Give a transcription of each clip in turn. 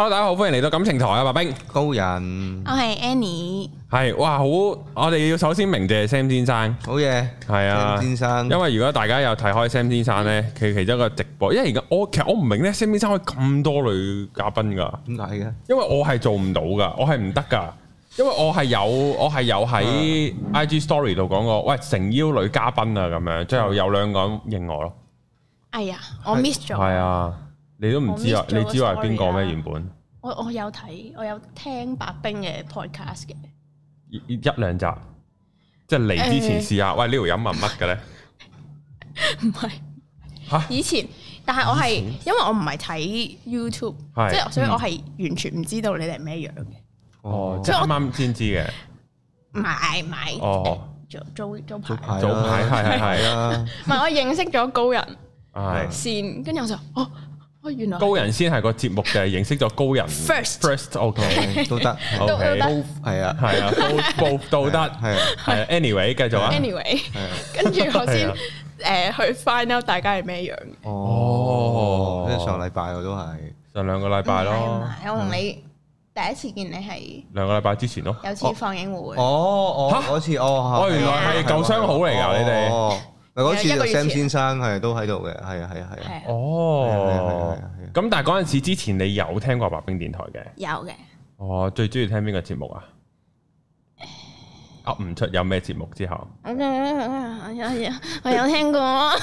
Hello， 大家好，歡迎嚟到感情台啊，白兵高人， 我係 Annie， 係哇好，我哋要首先鳴謝 Sam 先生， 好嘢，係啊 ，Sam 先生，因為如果大家有睇開 Sam 先生咧，佢其中一個直播，因為而家其實我唔明咧 Sam 先生可以咁多女嘉賓噶， 點解嘅？ 因為我係做唔到噶，我係唔得噶，因為我係有喺 IG Story 度講過，喂誠邀女嘉賓啊咁樣，最後有兩個人應我咯。 哎呀，我 miss 咗。 係啊，你都唔知啊？你知我係邊個咩？原本我有睇，我有聽白兵嘅 podcast 嘅， 一兩集，即係嚟之前試下。喂，呢條飲係乜嘅咧？ 唔係嚇，以前，但係我係因為我唔係睇 YouTube，即係所以我係完全唔知道你哋係咩樣嘅。 哦，即係啱啱先知嘅。 唔係，哦，早排係啊， 唔係我認識咗高人係先，跟住我就原來高人先係個節目嘅，認識咗高人 first OK 都得 ，OK 係啊 ，both 都得係 anyway 繼續啊 anyway 跟住我先去 find out 大家係咩樣嘅。 哦，即係上禮拜我都係上兩個禮拜咯。 我同你第一次見你係兩個禮拜之前咯， 有次放映會。 嗰次原來係舊相好嚟㗎，你哋。 嗰次 Sam 先生係都喺度嘅，係啊。 哦，咁但係嗰陣時之前你有聽過白兵電台嘅？ 有嘅。 哦，最中意聽邊個節目啊？噏唔出有咩節目之後。 我有聽過。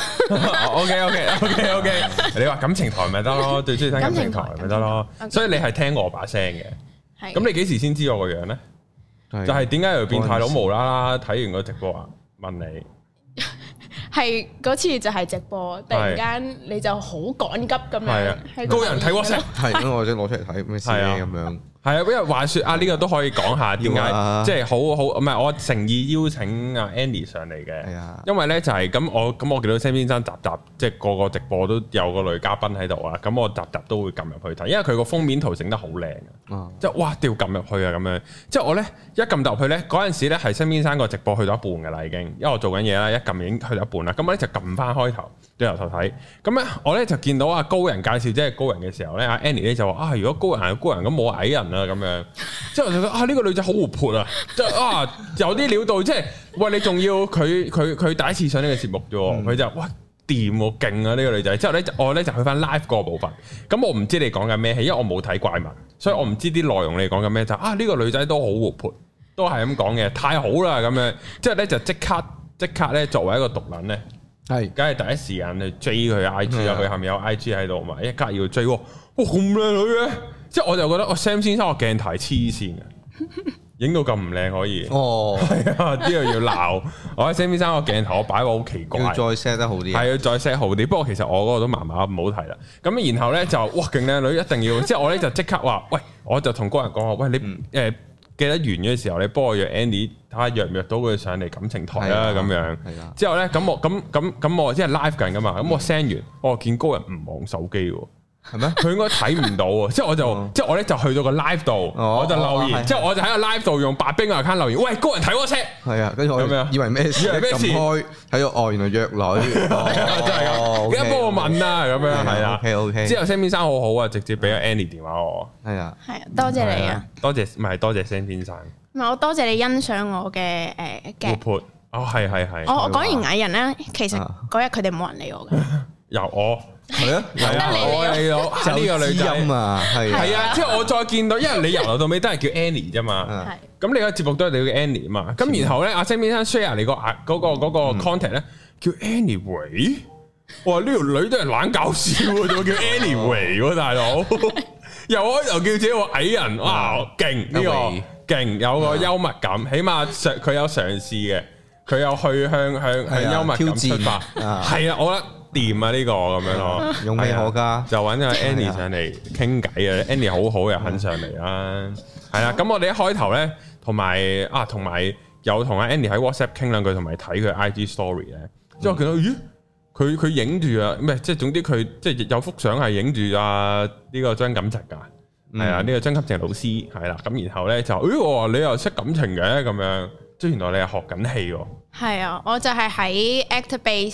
OK，你話感情台咪得咯，最中意聽感情台咪得咯，所以你係聽我把聲嘅。係。咁你幾時先知我個樣咧？就係點解有變態佬無啦啦睇完個直播啊？問你。 係嗰次就係直播，突然間你就好趕急咁樣， 高人睇 WhatsApp， 係咁我即係攞出嚟睇咩事咁樣。係啊，因為話説啊，呢個都可以講下點解，即係好唔係我誠意邀請阿 Annie 上嚟嘅。係啊，因為咧就係咁我見到 Sam 先生集即係個個直播都有個女嘉賓喺度啊，咁我集都會撳入去睇，因為佢個封面圖整得好靚啊，即係哇掉撳入去啊咁樣。即係我咧一撳入去咧嗰陣時咧係 Sam 先生個直播去到一半㗎啦已經，因為我做緊嘢啦，一撳已經去到一半啦，咁我咧就撳翻開頭對由頭睇，咁咧我咧就見到阿高人介紹即係高人嘅時候咧，阿 Annie 咧就話啊，如果高人係高人咁冇矮人啊咁樣，之後就覺得啊呢個女仔好活潑啊，即係啊有啲料到，即係喂你仲要佢第一次上呢個節目啫，佢就哇掂喎勁啊呢個女仔，之後咧我咧就去翻 live 嗰個部分，咁我唔知你講緊咩戲，因為我冇睇怪物，所以我唔知啲內容你講緊咩，就啊呢個女仔都好活潑，都係咁講嘅，太好啦咁樣，之後咧就即刻咧作為一個毒撚咧。係，梗係第一時間去追佢 IG 啊！佢下面有 IG 喺度嘛，一格要追喎，哇咁靚女嘅，即係我就覺得我 Sam 先生個鏡頭係黐線嘅，影到咁唔靚可以，係啊，呢個要鬧。我喺 Sam 先生個鏡頭我擺個好奇怪， 要再 set 得好啲， 係要再 set 好啲。不過其實我嗰個都麻麻唔好睇啦。咁然後咧就哇勁靚女，一定要，即係我咧就即刻話，喂，我就同嗰人講話，喂你記得完嘅時候，你幫我約 Andy 睇下約唔約到佢上嚟感情台啦咁樣。之後咧，咁我即係 live 緊噶嘛，咁我 send 完，我見高人唔望手機喎，係咩？佢應該睇唔到喎。即係我咧就去到個 live 度，我就留言，即係我就喺個 live 度用白兵嘅 account 留言，喂高人睇 WhatsApp。係啊，跟住我以為咩事？撳開睇到原來約女，真係咁。記得幫我問啊，咁樣係啦。OK。之後 Sam 先生好好啊，直接俾咗 Annie 電話我。 係啊， 多謝你啊， 多謝唔係多謝 Sam 先生。 唔係我多謝你欣賞我嘅活潑係。 我講完矮人咧，其實嗰日佢哋冇人理我嘅。 由我係啊， 我理到呢個女仔啊，係啊，即係我再見到，因為你由頭到尾都係叫 Annie 啫嘛。咁你個節目都係你叫 Annie 嘛。咁然後咧，阿 Sam 先生 share 你嗰個 contact 咧，叫 Anyway。哇！呢條女都係懶搞笑喎，仲叫 Anyway 喎，大佬。又開頭叫自己個矮人，哇！勁呢個勁，有個幽默感，起碼佢有嘗試嘅，佢有去向幽默感出發。係啊，我覺得掂啊呢個咁樣咯， 勇氣可嘉。 就揾阿 Annie 上嚟傾偈啊 ，Annie 好好又肯上嚟啦。係啦，咁我哋一開頭咧，同埋有同阿 Annie 喺 WhatsApp 傾兩句，同埋睇佢 IG story 咧，之後見到咦？佢影住啊，唔係即係總之佢即係有幅相係影住啊呢個張錦澤㗎，係啊呢個張錦澤老師係啦，咁然後咧就我話你又識感情嘅咁樣，即係原來你係學緊戲喎。 係啊，我就係喺 ActorBase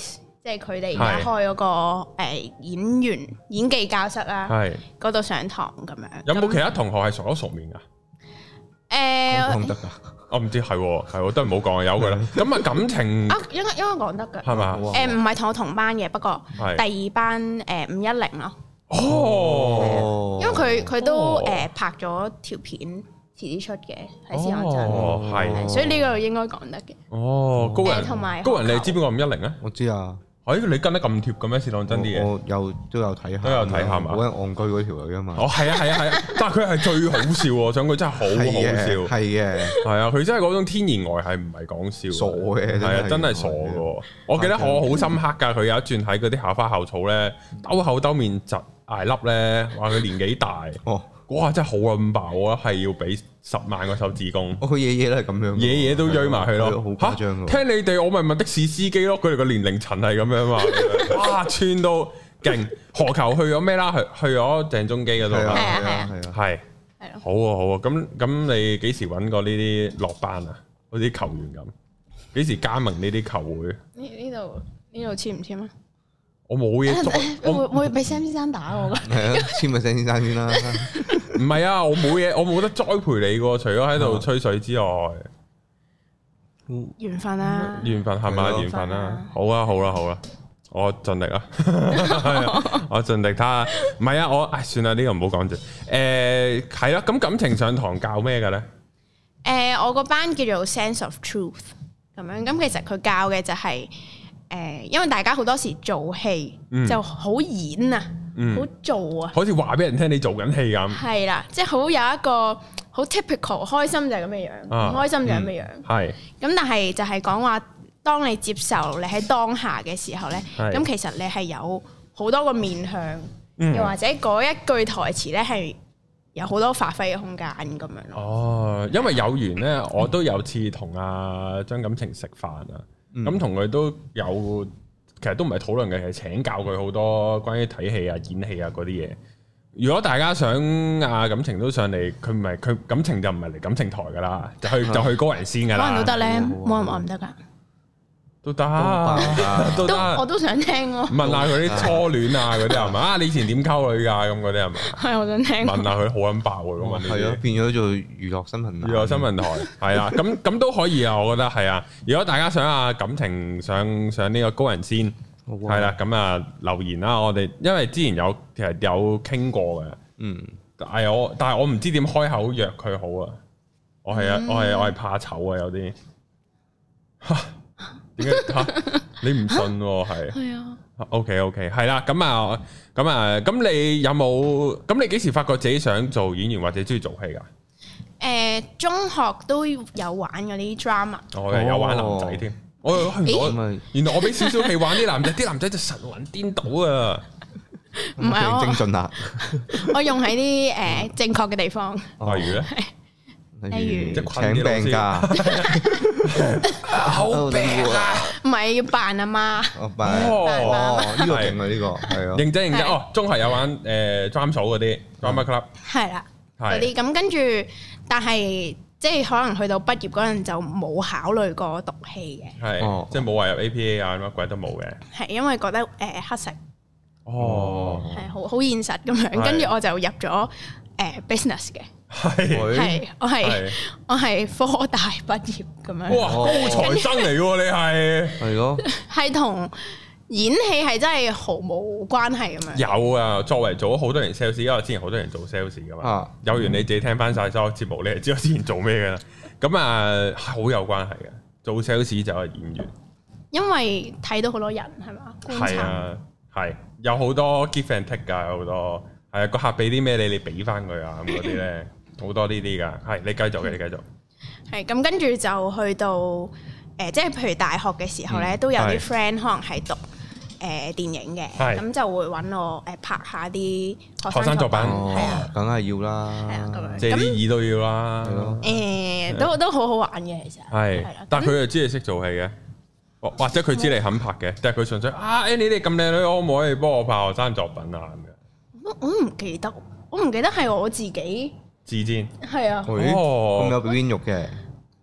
即係佢哋而家開嗰個演員演技教室啦，嗰度上堂咁樣。有冇其他同學係熟口熟面噶？ 講得㗎。 我唔知係都唔好講啊，由佢啦。咁啊感情應該講得㗎， 係嘛？ 唔係同我同班嘅，不過第二班510咯。 哦， 因為佢都拍咗條片，遲啲出嘅喺試當真。係，所以呢個應該講得嘅。 哦，高人同埋高人，你知邊個510啊？ 我知啊。 你跟得咁貼嘅咩？試當真啲嘢， 我都有睇下， 係嘛？ 好鬼戇居嗰條女啊嘛。 係啊，但係佢係最好笑喎，想佢真係好笑。係嘅，係啊，佢真係嗰種天然呆係唔係講笑？傻嘅，係啊，真係傻嘅。我記得我好深刻㗎，佢有一轉喺嗰啲校花校草咧，兜口兜面窒挨粒咧，話佢年紀大。哇！真係好撚爆，我係要俾10萬個手指公。 佢爺爺都係咁樣， 爺爺都追埋去咯。 好誇張㗎。 聽你哋，我咪問的士司機咯。佢哋個年齡層係咁樣嘛。哇！串到勁。何球去咗咩啦？去咗鄭中基嗰度。係。好啊。咁你幾時揾過呢啲落班啊？好似球員咁，幾時加盟呢啲球會？ 呢度簽唔簽啊？ 我冇嘢做， 我會俾 Sam 先生打我噶。 係啊，簽咪 Sam 先生先啦。 唔係啊，我冇嘢，我冇得栽培你噶，除咗喺度吹水之外。 緣分啦， 緣分係咪？緣分啦。好啦，我盡力啦。我盡力睇下。唔係啊，算啦，呢個唔好講住。係啦，咁感情上堂教咩嘅咧？ 我個班叫做 Sense of Truth 咁樣，咁其實佢教嘅就係。因為大家好多時做戲就好演啊，好做啊， 好似話俾人聽你做緊戲咁。係啦，即係好有一個好 typical， 開心就係咁嘅樣，唔開心就係咁嘅樣。係。咁但係就係講話，當你接受你喺當下嘅時候咧，咁其實你係有好多個面向，又或者嗰一句台詞咧係有好多發揮嘅空間咁樣咯。哦， 因為有緣咧，我都有次同阿張錦程食飯啊。咁同佢都有，其實都唔係討論嘅，係請教佢好多關於睇戲啊、演戲啊嗰啲嘢。如果大家想感情都上嚟，佢感情就唔係嚟感情台噶啦，就去高人先噶啦。 可能都得咧，冇人話唔得噶。 都得， 我都想聽咯。 問下佢啲初戀啊嗰啲係嘛？你以前點溝女㗎？咁嗰啲係嘛？ 係，我想聽。 問下佢好撚爆喎，咁問呢啲。係咯， 變咗做娛樂新聞。 娛樂新聞台係啊，咁都可以啊，我覺得係啊。如果大家想感情上呢個高人先，係啦，咁留言啦。我哋因為之前其實有傾過嘅，但係我唔知點開口約佢好啊。我係怕醜啊，有啲。點解你唔信喎？係啊。OK， 係啦。咁你有冇？咁你幾時發覺自己想做演員或者中意做戲㗎？ 中學都有玩嗰啲 drama。 有玩男仔添。原來我俾少少戲玩啲男仔，啲男仔就神魂顛倒啊！ 唔係精進啊！ 我用喺啲正確嘅地方。 例如咧？ 例如請病假， 好病啊！ 唔係要扮阿媽， 呢個勁啊！呢個係啊， 認真中學有玩drama 嗰啲 drama club， 係啦， 嗰啲咁跟住，但係即係可能去到畢業嗰陣就冇考慮過讀戲嘅， 係即係冇話入 APA 啊乜鬼都冇嘅，係因為覺得乞食，係好現實咁樣，跟住我就入咗business 嘅。係，我係科大畢業咁樣。 哇，高材生嚟喎，你係咯， 係同演戲係真係毫無關係咁樣。 有啊，作為做咗好多年 sales，因為之前好多人做 sales 噶嘛。有緣你自己聽翻晒所有節目，你就知我之前做咩噶啦。咁好有關係嘅，做 sales 就係演員。因為睇到好多人係嘛，係啊，係有好多 give and take 噶，有好多係個客俾啲咩你俾翻佢啊咁嗰啲咧。好多呢啲噶，係你繼續嘅，你繼續。係咁，跟住就去到即係譬如大學嘅時候咧，都有啲 friend 可能係讀電影嘅，咁就會揾我拍下啲學生作品，係啊， 梗係要啦， 係啊，咁樣， 即係啲耳都要啦， 都好好玩嘅其實。係， 但係佢又知你識做戲嘅，或者佢知你肯拍嘅，但係佢純粹Annie 你咁靚女，可唔可以幫我拍學生作品啊咁樣？我唔記得係我自己。自薦係啊， 咁有表演欲嘅，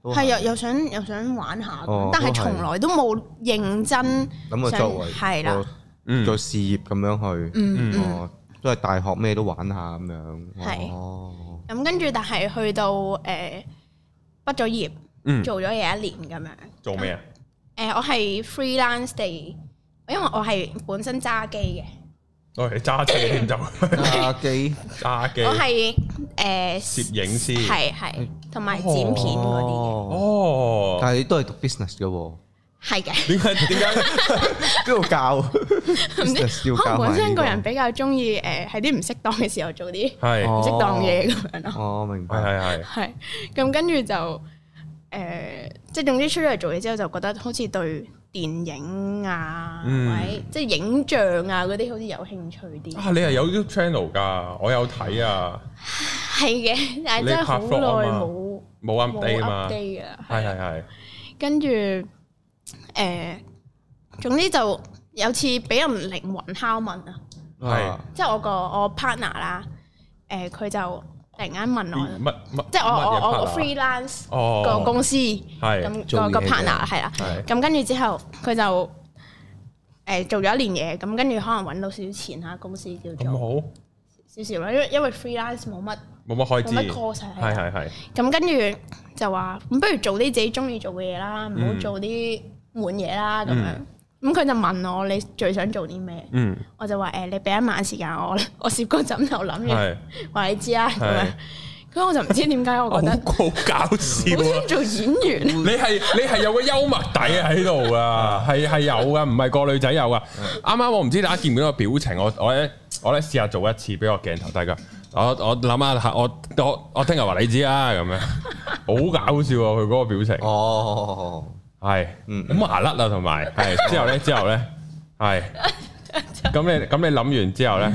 係啊，又想玩下，但係從來都冇認真諗過作為係啦， 做事業咁樣去，都係大學咩都玩下咁樣。 係，咁跟住但係去到畢咗業，做咗嘢1年咁樣。做咩啊？我係 freelance 地，因為我係本身揸機嘅。 我係揸車添就揸機， 我係攝影師， 係同埋剪片嗰啲嘅。 哦，但係你都係讀 business 嘅喎。係嘅。點解邊度教？ 唔知可能本身個人比較中意喺啲唔適當嘅時候做啲唔適當嘢咁樣咯。 哦，明白。 係咁跟住就即係總之出咗嚟做嘢之後，就覺得好似對電影啊，或者即係影像啊嗰啲，好似有興趣啲。啊， 你係有 YouTube channel 㗎？我有睇啊。 係嘅，但係真係好耐冇 update 啊嘛。係。 跟住總之就有次俾人靈魂拷問啊。係。即係我 partner 啦，佢就突然間問我，即係我 freelance 個公司咁個 partner 係啦，咁跟住之後佢就做咗1年嘢，咁跟住可能揾到少少錢嚇，公司叫做好少少啦，因為 freelance 冇乜開支，冇乜 cost 係。咁跟住就話咁，不如做啲自己中意做嘅嘢啦，唔好做啲悶嘢啦咁樣。咁佢就問我你最想做啲咩？我就話你俾1晚時間我攝個枕頭諗住話你知啦咁樣。咁我就唔知點解我覺得好搞笑， 好想做演員。 你係有個幽默底喺度噶，係有噶，唔係個女仔有噶。啱啱我唔知大家見唔見到個表情，我咧試下做一次俾個鏡頭大家。我諗下，我聽日話你知啦咁樣，好搞笑啊！佢嗰個表情。哦。係，好麻甩啊，同埋係之後咧，係，咁你諗完之後咧，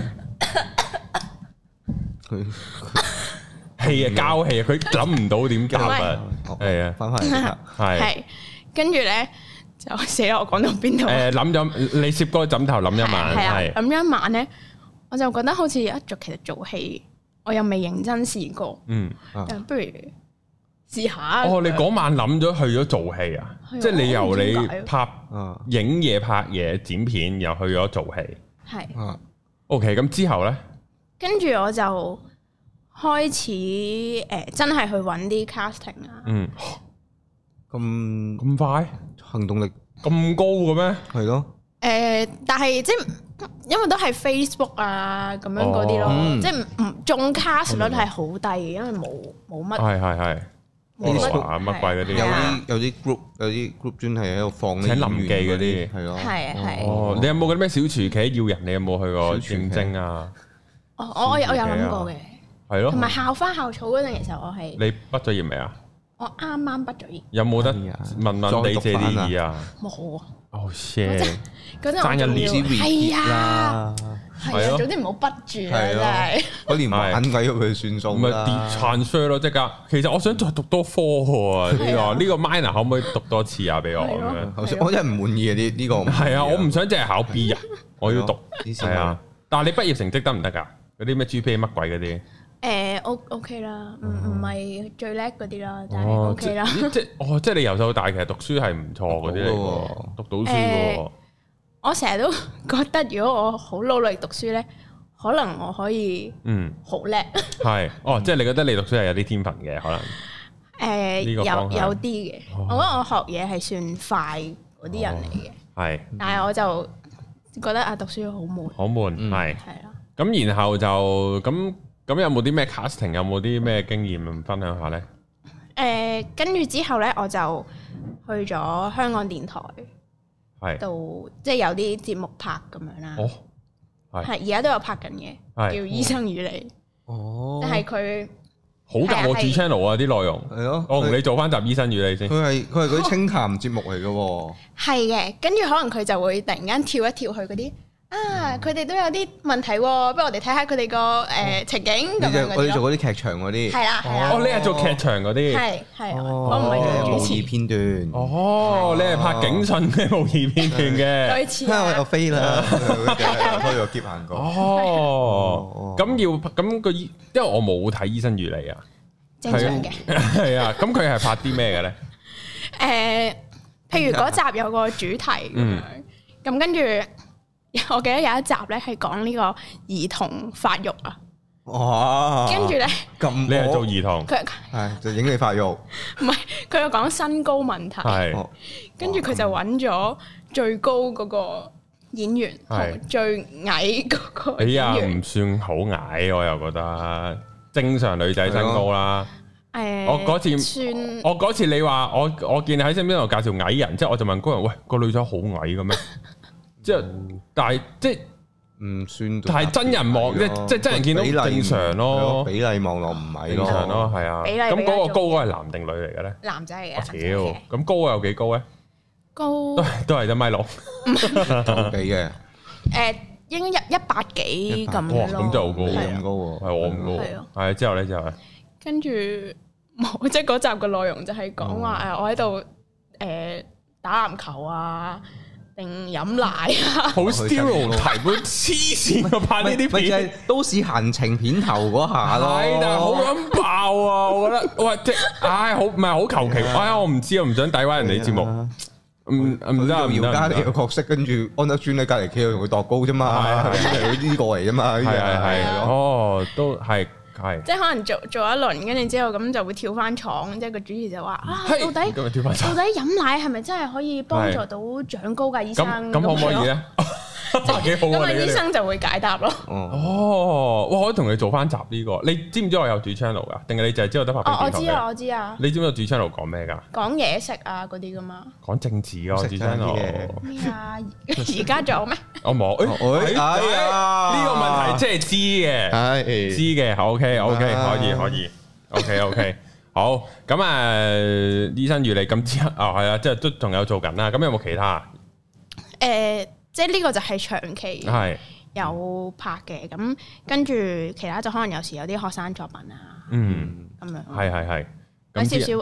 氣啊交氣啊，佢諗唔到點交啊，係啊，翻嚟係，跟住咧就死啦！我講到邊度？ 諗咗你攝嗰個枕頭諗1晚， 係諗咗1晚咧，我就覺得好似其實做戲，我又未認真試過，不如試下。 你嗰晚諗咗去咗做戲啊？即係你由你拍影嘢、拍嘢、剪片，又去咗做戲。係。OK，咁之後咧？ 跟住我就開始真係去揾啲 casting 啊。 咁快？ 行動力咁高嘅咩？係咯。 但係即係因為都係 Facebook 啊咁樣嗰啲咯，即係唔中 cast 率係好低嘅，因為冇乜。係。乜鬼嗰啲， 有啲 group 專係喺度放請臨記嗰啲，係咯， 係。 你有冇嗰啲咩小廚企要人？你有冇去過應徵啊？ 我有諗過嘅， 係咯。 同埋校花校草嗰陣，其實我係你畢咗業未啊？ 我啱啱畢咗業。 有冇得問你借啲意啊？ 冇啊。 哦 shit！ 嗰陣爭1年係啊。係啊，總之唔好畢住啦，真係。 嗰年玩鬼佢算數啦。 咪跌 transfer 咯，即刻。其實我想再讀多科喎，呢個 minor 可唔可以讀多次啊？俾我咁樣。 我真係唔滿意啊！呢個係啊，我唔想淨係考 B 啊，我要讀。係啊，但係你畢業成績得唔得㗎？嗰啲咩 GPA 乜鬼嗰啲 ？OK 啦，唔係最叻嗰啲啦，但係 OK 啦。 即係你由細到大其實讀書係唔錯嗰啲嚟喎，讀到書喎。 我成日都覺得，如果我好努力讀書咧，可能我可以好叻。 係即係你覺得你讀書係有啲天分嘅可能？ 有啲嘅。我覺得我學嘢係算快嗰啲人嚟嘅。係。但係我就覺得讀書好悶。好悶係。係啦。 咁然後就咁有冇啲咩 casting？ 有冇啲咩經驗分享下咧？ 跟住之後咧，我就去咗香港電台。度即係有啲節目拍咁樣啦，係而家都有拍緊嘅，叫《醫生與你》。但係佢好夾我主 channel 啊啲內容，係咯，我同你做翻集《醫生與你》先。 佢係嗰啲清談節目嚟嘅， 係嘅。跟住可能佢就會突然間跳一跳去嗰啲佢哋都有啲問題，不如我哋睇下佢哋個情景咁樣。 我哋做嗰啲劇場嗰啲， 係啦係啦。 你係做劇場嗰啲， 係我唔係做主持模擬片段。 你係拍警訊嘅模擬片段嘅。 類似我又飛啦，開個劫行過。 咁因為我冇睇《醫生與你》啊。 正常嘅。 係啊，咁佢係拍啲咩嘅咧？ 譬如嗰集有個主題咁樣，咁跟住我記得有一集咧係講呢個兒童發育啊。 哇！ 跟住咧， 你係做兒童， 佢係就影你發育， 唔係佢又講身高問題，係跟住佢就揾咗最高嗰個演員同最矮嗰個演員。哎呀， 唔算好矮，我又覺得正常女仔身高啦。我嗰次你話我見你喺身邊度介紹矮人，即係我就問高人，喂，個女仔好矮嘅咩？即係但係即係。 唔算， 但係真人望即真人見到正常咯， 比例望落唔係咯， 正常咯，係啊。咁嗰個高係男定女嚟嘅咧？ 男仔嚟嘅。 屌，咁高有幾高咧？ 高都係1.6 米嘅。 應該100幾咁咯。 咁就好高， 咁高喎， 係我咁高。係之後咧就係跟住冇，即係嗰集嘅內容就係講話我喺度打籃球啊。定飲奶啊！ 好 stereotype，黐線嘅拍呢啲片， 咪就係都市閒情片頭嗰下咯。 係，但係好撚爆啊！我覺得，喂，即係，好唔係好求其。我唔知，我唔想詆毀人哋節目。唔得， 姚嘉莉嘅角色，跟住安德尊喺隔離企度同佢度高啫嘛，係呢個嚟啫嘛。 係，哦，都係。係， 即係可能做一輪，跟住之後咁就會跳翻床，即係個主持就話到底飲奶係咪真係可以幫助到長高㗎？醫生咁可唔可以咧？幾好啊！ 醫生就會解答咯。 哦，我可以同你做翻集呢個。你知唔知我有主 channel 㗎？定係你就係知道得拍片？ 我知啊。 你知唔知道主 channel 講咩㗎？ 講嘢食啊嗰啲㗎嘛。講政治啊，主 channel。 咩啊？而家仲有咩？ 我冇。呢個問題即係知嘅，知嘅。OK，好。咁啊，醫生與你咁之後係啊，即係都仲有做緊啦。咁有冇其他？ 即係呢個就係長期有拍嘅，咁跟住其他就可能有時有啲學生作品啊，咁樣。係。有少少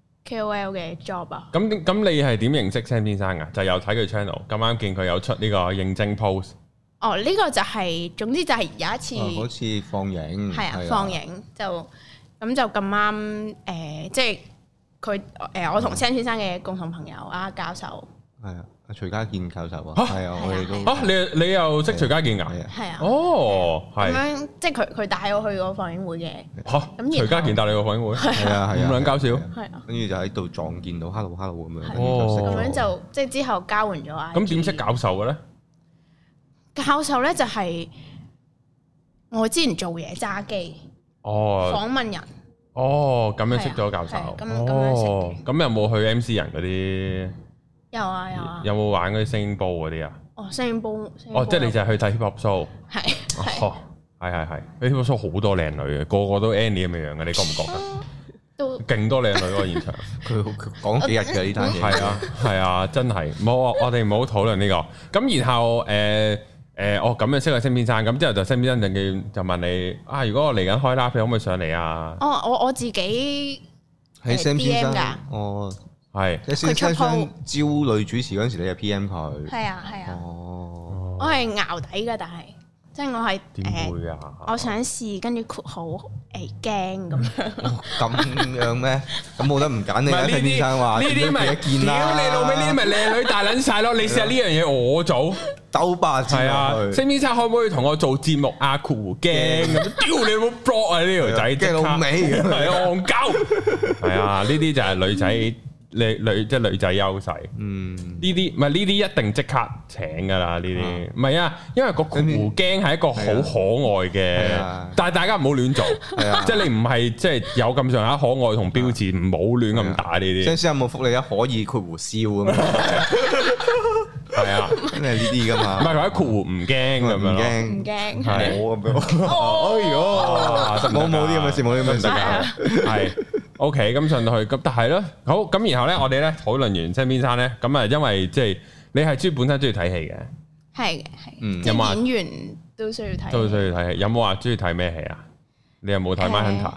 KOL 嘅 job 啊。咁你係點認識 Sam 先生㗎？就有睇佢 channel，咁啱見佢有出呢個認證 post。 呢個就係總之就係有一次， 好似放映， 係啊，放映就咁就咁啱即係佢我同 Sam 先生嘅共同朋友啊，教授。係啊。 徐家健教授啊，係啊，我哋都你又識徐家健㗎？ 係啊， 哦，係咁樣，即係佢帶我去個放映會嘅。 咁徐家健帶你去放映會， 係啊， 咁撚搞笑。 係啊， 跟住就喺度撞見到 hello 咁樣， 咁樣就即係之後交換咗啊。 咁點識教授嘅咧？ 教授咧就係我之前做嘢揸機，訪問人。 咁樣識咗教授。咁有冇去 MC 人嗰啲？ 有啊， 有冇玩嗰啲聲音波嗰啲啊？ 聲音波， 即係你就係去睇 hip hop show。 係。 係。hip hop show 好多靚女嘅，個個都 Annie 咁嘅樣嘅，你覺唔覺得？都勁多靚女嗰個現場。佢講幾日嘅呢單嘢。 係啊，真係。冇，我哋唔好討論呢個。咁然後咁樣識咗 Sam先生，咁之後就 Sam先生就問你如果我嚟緊開 live，你可唔可以上嚟啊？ 我自己喺 Sam 先生㗎。 係， 即係先生招女主持嗰陣時，你就 PM 佢。 係啊。我係淆底㗎，但係即係我係點會啊？ 我想試，跟住括好驚咁樣。 咁樣咩？咁冇得唔揀你啊？先生話呢啲咪見啦，屌你老味，呢啲咪靚女大撚晒咯！你試下呢樣嘢我做兜巴字落去。先生可唔可以同我做節目啊？括驚咁，屌你冇 block 啊！呢條仔驚老味， 係戇鳩。係啊，呢啲就係女仔。即係女仔優勢，呢啲唔係呢啲一定即刻請噶啦，呢啲唔係啊，因為個狐驚係一個好可愛嘅，但係大家唔好亂做，即係你唔係即係有咁上下可愛同標誌，唔好亂咁打呢啲。 先生有冇福利啊？可以括弧笑咁樣， 係啊， 真係呢啲噶嘛， 唔係或者括弧唔驚咁樣， 唔驚係我咁樣，哎呦，冇啲咁嘅事，冇啲咁嘅事，係。 OK，咁上到去，咁但係咧，好咁，然後咧，我哋咧討論完 Sam 先生咧，咁啊，因為即係你係本身中意睇戲嘅， 係嘅，有冇演員都需要睇， 都需要睇戲。有冇話中意睇咩戲啊？你有冇睇《Mindhunter》？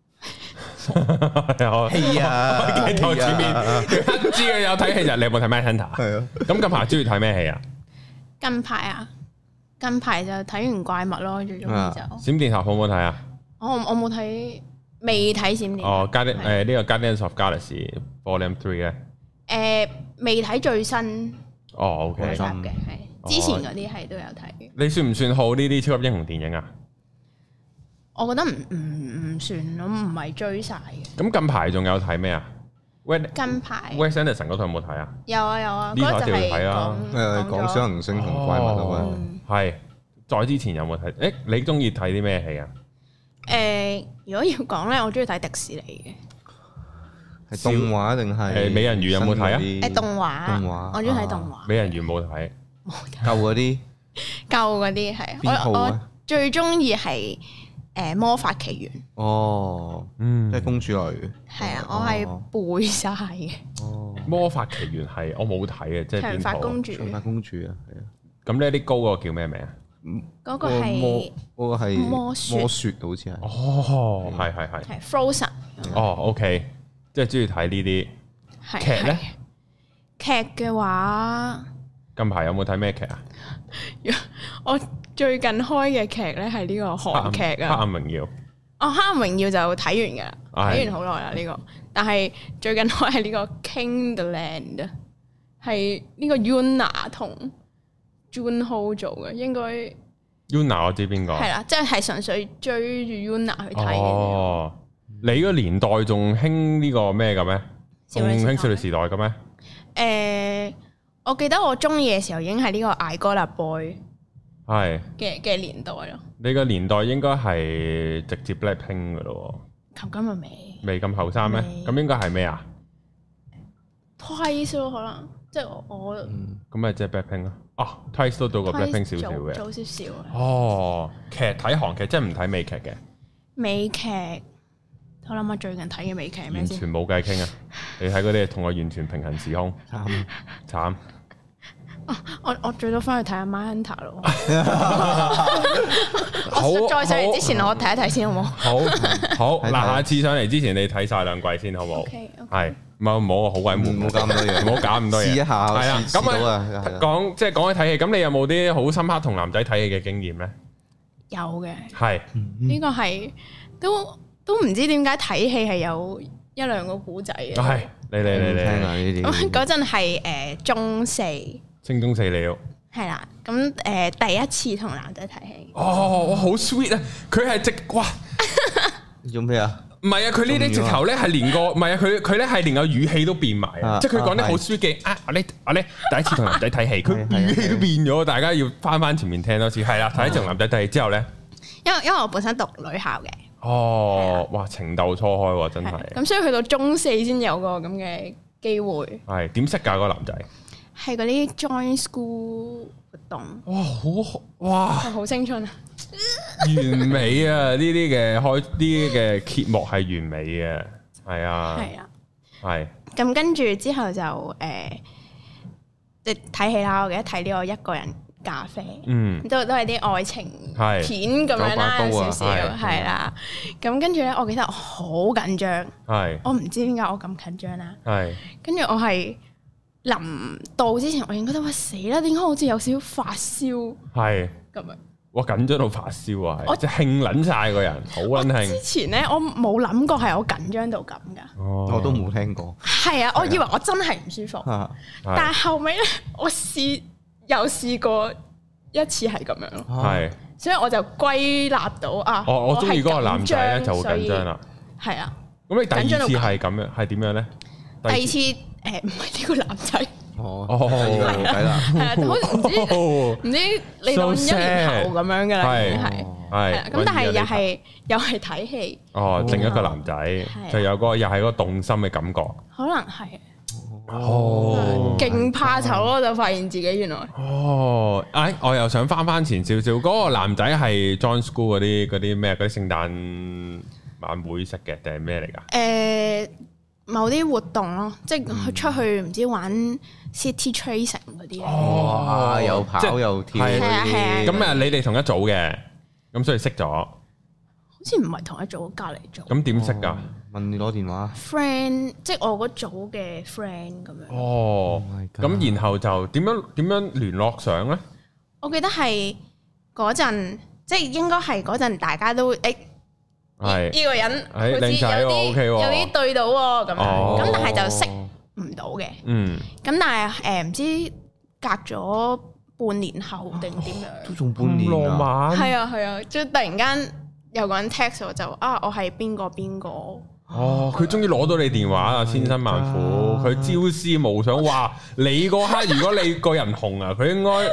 係啊， 鏡頭前面佢知佢有睇戲就你有冇睇《Mindhunter》？ 係啊。 咁近排中意睇咩戲啊？ 近排就睇完怪物咯，最中意就。 閃電俠好唔好睇啊？ 我冇睇。 未睇閃電哦，Guardian 呢個 Guardians of Galaxy Volume 3咧？ 未睇最新。 哦，OK。 嘅係之前嗰啲係都有睇。你算唔算好呢啲超級英雄電影啊？ 我覺得唔算咯，唔係追晒嘅。 咁近排仲有睇咩啊？ 近排 Wes Anderson 嗰套有冇睇啊？ 有啊， 呢套就要睇啦。 講小行星同怪物啊嘛。 係。再之前有冇睇？誒，你中意睇啲咩戲啊？ 如果要講咧，我中意睇迪士尼嘅。 係動畫定係？ 美人魚有冇睇啊？ 動畫。我中意睇動畫。 美人魚冇睇。 舊嗰啲。 舊嗰啲係。我最中意係魔法奇緣。 哦，即係公主類。 係啊，我係背晒嘅。 哦，魔法奇緣係我冇睇嘅，即係長髮公主。 長髮公主啊，係啊。 咁呢啲高個叫咩名啊？ 嗰個係魔雪好似係。 哦，係。 係 Frozen。 哦，OK，即係中意睇呢啲劇咧。 劇嘅話， 近排有冇睇咩劇啊？ 我最近開嘅劇咧係呢個韓劇啊， 黑暗榮耀。 黑暗榮耀就睇完噶啦，睇完好耐啦呢個。但係最近開係呢個 King the Land，係呢個 Yuna 同 Junho 做嘅，應該 Yuna 我知邊個。係啦，即係純粹追住 Yuna 去睇嘅。 哦，你個年代仲興呢個咩嘅咩？仲興少女時代嘅咩？ 我記得我中意嘅時候已經係呢個 I Got a Boy 係嘅年代咯。你個年代應該係直接 Blackpink 嘅咯。 咁咪未咁後生咩？咁應該係咩啊 ？Twice 咯，可能即係我咁咪即係 Blackpink 咯。哦，Twice 都到過 Blackpink 少少嘅， 早少少。 哦，劇睇韓劇，即係唔睇美劇嘅。美劇， 我諗下最近睇嘅美劇係咩先？ 完全冇偈傾啊！你睇嗰啲同我完全平行時空，慘。 我最多翻去睇下 Mindhunter 咯。我再上嚟之前，我睇一睇先好冇？ 好。嗱，下次上嚟之前，你睇晒兩季先好冇？係，唔好好鬼悶，唔好搞咁多嘢，唔好搞咁多嘢。試一下，係啦。咁啊，講起睇戲，咁你有冇啲好深刻同男仔睇戲嘅經驗咧？ 有嘅。 係。 呢個係都唔知點解睇戲係有一兩個古仔嘅。 係，你聽下呢啲。 嗰陣係中四。 升中四了， 係啦，咁第一次同男仔睇戲， 我好 sweet 啊！佢係直哇， 做咩啊？ 唔係啊，佢呢啲直頭咧係連個，唔係啊，佢咧係連個語氣都變埋啊！即係佢講啲好 sweet 嘅我咧第一次同男仔睇戲，佢語氣都變咗，大家要翻前面聽多次。係啦，第一次同男仔睇戲之後咧， 因為我本身讀女校嘅， 哦，哇，情竇初開真係， 咁所以去到中四先有個咁嘅機會。 係點識㗎嗰個男仔？ 係嗰啲 join school 活動， 哇， 好青春啊！ 完美啊！呢啲嘅揭幕係完美嘅，係啊，係。 咁跟住之後就即係睇戲啦。我記得睇呢個一個人咖啡，都係啲愛情片咁樣啦，少少係啦。咁跟住咧，我記得我好緊張，我唔知點解我咁緊張啦。跟住我係。臨到之前，我已經覺得哇死啦！點解好似有少少發燒？係咁樣， 哇緊張到發燒啊！我即係興撚晒個人，好撚興。之前咧，我冇諗過係我緊張到咁噶， 我都冇聽過。 係啊，我以為我真係唔舒服，但係後尾咧，我試過一次係咁樣咯。係，所以我就歸納到啊， 我中意嗰個男仔咧就好緊張啦。 係啊， 咁你第二次係咁樣係點樣咧？ 第二次。唔係呢個男仔， 係啦， 唔知你當1年後咁樣噶啦，係，咁但係又係睇戲， 另一個男仔就有個又係嗰個動心嘅感覺， 可能係，勁怕醜咯，就發現自己原來， 我又想翻前少少，嗰個男仔係 join school 嗰啲咩嗰啲聖誕晚會食嘅定係咩嚟噶？ 某啲活動咯，即係出去唔知玩 city tracing 嗰啲哇，又跑又跳嗰啲。 咁你哋同一組嘅，咁所以識咗。好似唔係同一組，隔離組。 咁點識㗎？ 問你攞電話。 friend，即係我嗰組嘅 friend 咁樣。 哦，咁然後就點樣聯絡上咧？ 我記得係嗰陣，即係應該係嗰陣大家都呢個人好似有啲對到喎咁樣，咁但係就識唔到嘅。咁但係唔知隔咗半年後定點樣？ 都仲半年啊！ 浪漫係啊，即係突然間有個人 text 我就我係邊個。 佢終於攞到你電話啦，千辛萬苦，佢朝思暮想話你嗰刻，如果你個人紅啊，佢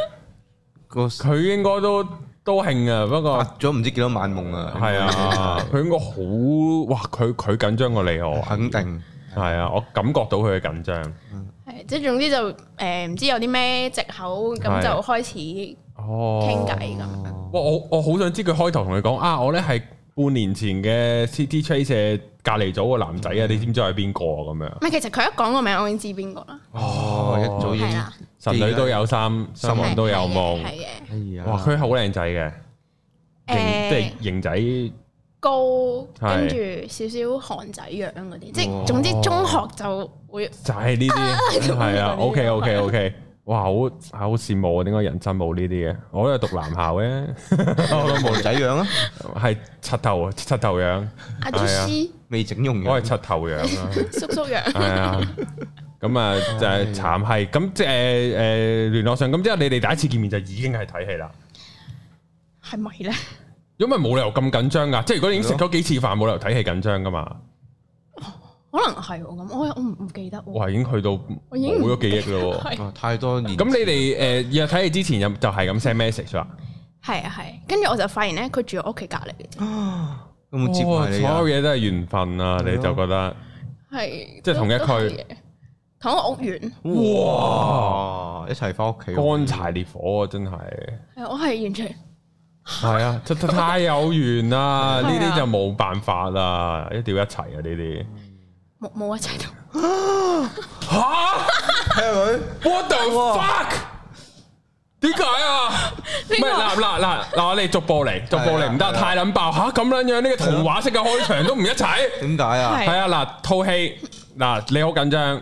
應該都興啊，不過發咗唔知幾多晚夢啊， 係啊，佢應該好佢緊張過你我， 肯定係啊，我感覺到佢嘅緊張， 係即係總之就唔知有啲咩藉口咁就開始傾偈咁。 我好想知佢開頭同你講我咧係半年前嘅 City Trace 隔離組個男仔啊，你知唔知係邊個咁樣？ 唔係，其實佢一講個名，我已經知邊個啦。 一早已經神女都有心，心王都有夢。 係嘅。 哇，佢好靚仔嘅，即係型仔高，跟住少少韓仔樣嗰啲，即係總之中學就會就係呢啲，係啊。OK。哇，好羨慕啊！點解人生冇呢啲嘅？我都係讀男校嘅， 我都冇仔樣啊， 係柒頭樣，係啊， 未整容嘅， 我係柒頭樣啊， 叔樣， 係啊，咁啊就係慘係，咁即係聯絡上，咁之後你哋第一次見面就已經係睇戲啦， 係咪咧？ 因為冇理由咁緊張噶，即係如果你已經食咗幾次飯，冇理由睇戲緊張噶嘛。 可能係咁，我唔記得。 哇，已經去到冇咗記憶咯， 太多年。 咁你哋約睇戲之前就係咁 send message 啦。 係，跟住我就發現咧，佢住我屋企隔離嘅啫。 有冇接埋你？ 所有嘢都係緣分啊！你就覺得係即係同一區， 同一個屋苑。 哇！一齊翻屋企， 乾柴烈火啊！真係。 係，我係完全係啊！太有緣啦！呢啲就冇辦法啦，一定要一齊啊！呢啲。 冇一齊到吓？係咪 ？What the fuck？點解啊？唔係嗱，我哋逐步嚟，唔得太撚爆吓咁撚樣，呢個童話式嘅開場都唔一齊。 點解啊？ 係啊，嗱，套戲嗱你好緊張，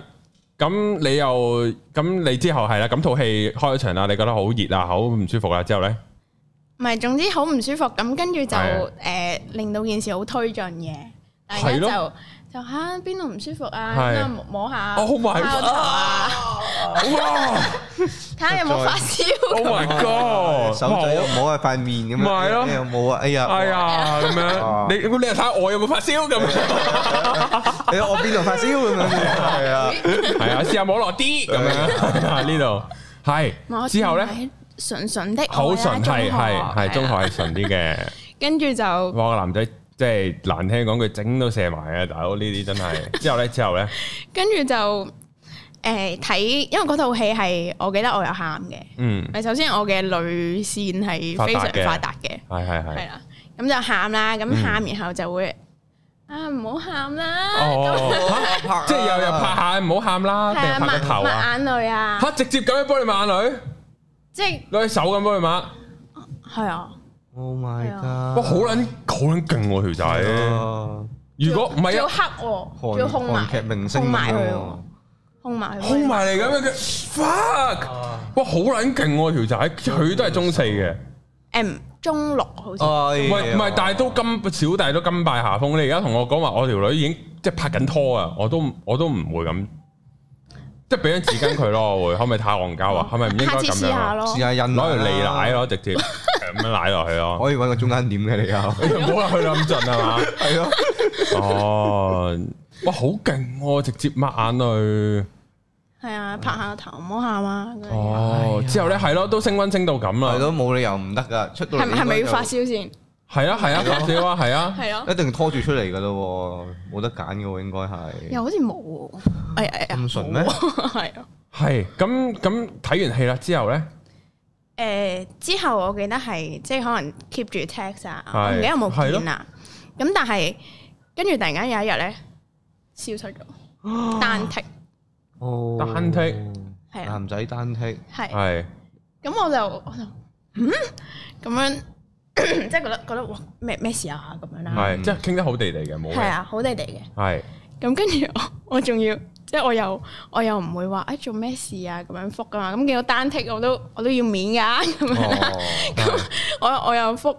咁你之後係啦，咁套戲開場啦，你覺得好熱啊，好唔舒服啦，之後咧？ 唔係，總之好唔舒服咁，跟住就令到件事好推進嘅，大家就嚇邊度唔舒服啊？摸下 ，Oh my god！哇！ 睇下有冇發燒。 Oh my god！ 手仔又摸下塊面咁樣， 係咯， 又冇啊！哎呀咁樣，你又睇下我有冇發燒咁樣？ 你我邊度發燒咁樣？ 係啊，試下摸落啲咁樣呢度係。之後咧， 純的好純，係中學係純啲嘅。跟住就哇個男仔。即係難聽講句，整都射埋啊！大佬呢啲真係。之後咧， 跟住就睇，因為嗰套戲係我記得我有喊嘅。首先我嘅淚腺係非常發達嘅。係啦，咁就喊啦，咁喊然後就會唔好喊啦。 即係又拍下唔好喊啦，定係拍個頭啊？ 抹眼淚啊！ 直接咁樣幫你抹眼淚，即係攞隻手咁幫你抹。 係啊。 Oh my god！ 哇，好撚勁喎條仔！如果唔係要黑喎，要控埋，控埋佢喎，控埋嚟咁樣嘅 fuck！哇，好撚勁喎條仔，佢都係中四嘅， 中六好似。 唔係，但係都小弟都甘拜下風。你而家同我講話，我條女已經即係拍緊拖啊，我都唔會咁。即係俾張紙巾佢咯，可唔可以太戇交啊？係咪唔應該咁樣？ 試下印攞條脷奶咯，直接咁樣奶落去咯。 可以搵個中間點嘅你又， 唔好啦，去到咁盡係嘛？ 係咯。 哦，哇，好勁喎！直接抹眼淚。 係啊，拍下個頭，唔好喊啊！ 哦，之後咧係咯，都升溫升到咁啦。 係咯，冇理由唔得噶，出到嚟係咪要發燒先？ 係啊，發燒啊，係啊， 咯， 一定拖住出嚟噶咯，冇得揀噶，應該係。 又好似冇， 咁純咩？ 係啊。 係咁睇完戲啦之後咧？ 之後我記得係即係可能 keep 住 text 啊，我唔記得有冇見啊。咁但係跟住突然間有一日咧消失咗，單剔。 哦， 單剔係男仔單剔係。咁我就咁樣。即係覺得哇咩事啊咁樣啦， 係即係傾得好地地嘅，冇係啊，好地地嘅。 係咁跟住我仲要即係我又唔會話做咩事啊咁樣覆噶嘛，咁見到單剔我都要面噶咁樣啦，咁我又覆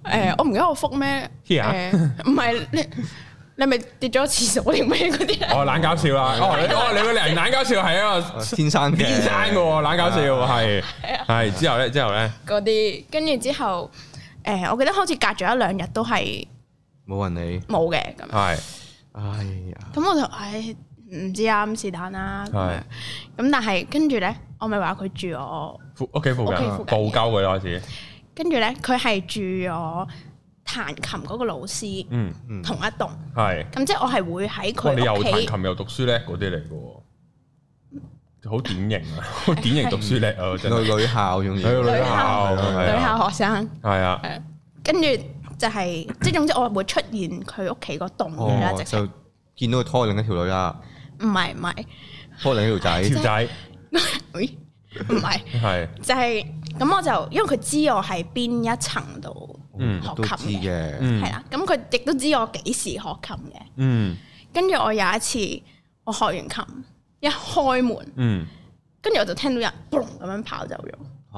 我唔記得我覆咩？唔係你咪跌咗廁所定咩嗰啲咧？ 哦，懶搞笑啦！你個人懶搞笑係一個天生嘅喎，懶搞笑係之後咧嗰啲，跟住之後我記得好似隔咗1-2日都係冇人理， 冇嘅咁。 係，哎呀！ 咁我就唔知啊，咁是但啦。咁但係跟住咧，我咪話佢住我屋企附近，報鳩佢開始。跟住咧，佢係住我彈琴嗰個老師，同一棟。係。咁即係我係會喺佢屋企。你又彈琴又讀書叻嗰啲嚟嘅喎，好典型啊！好典型讀書叻啊！真係女校用嘅， 女校學生。 係啊。 跟住就係即係總之我會出現佢屋企嗰棟嘅啦， 就見到佢拖另一條女啦。唔係， 拖另一條仔。 唔係，係就係咁，我就因為佢知我喺邊一層度學琴嘅，係啦，咁佢亦都知我幾時學琴嘅，跟住我有一次我學完琴一開門，跟住我就聽到人嘣咁樣跑走咗，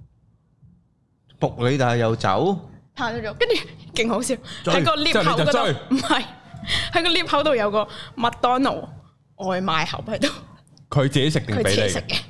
仆你但係又走， 跑咗咗，跟住勁好笑，喺個 lift 口嗰度，唔係喺個 lift 口度有個麥當勞外賣盒喺度， 佢自己食定俾你食嘅？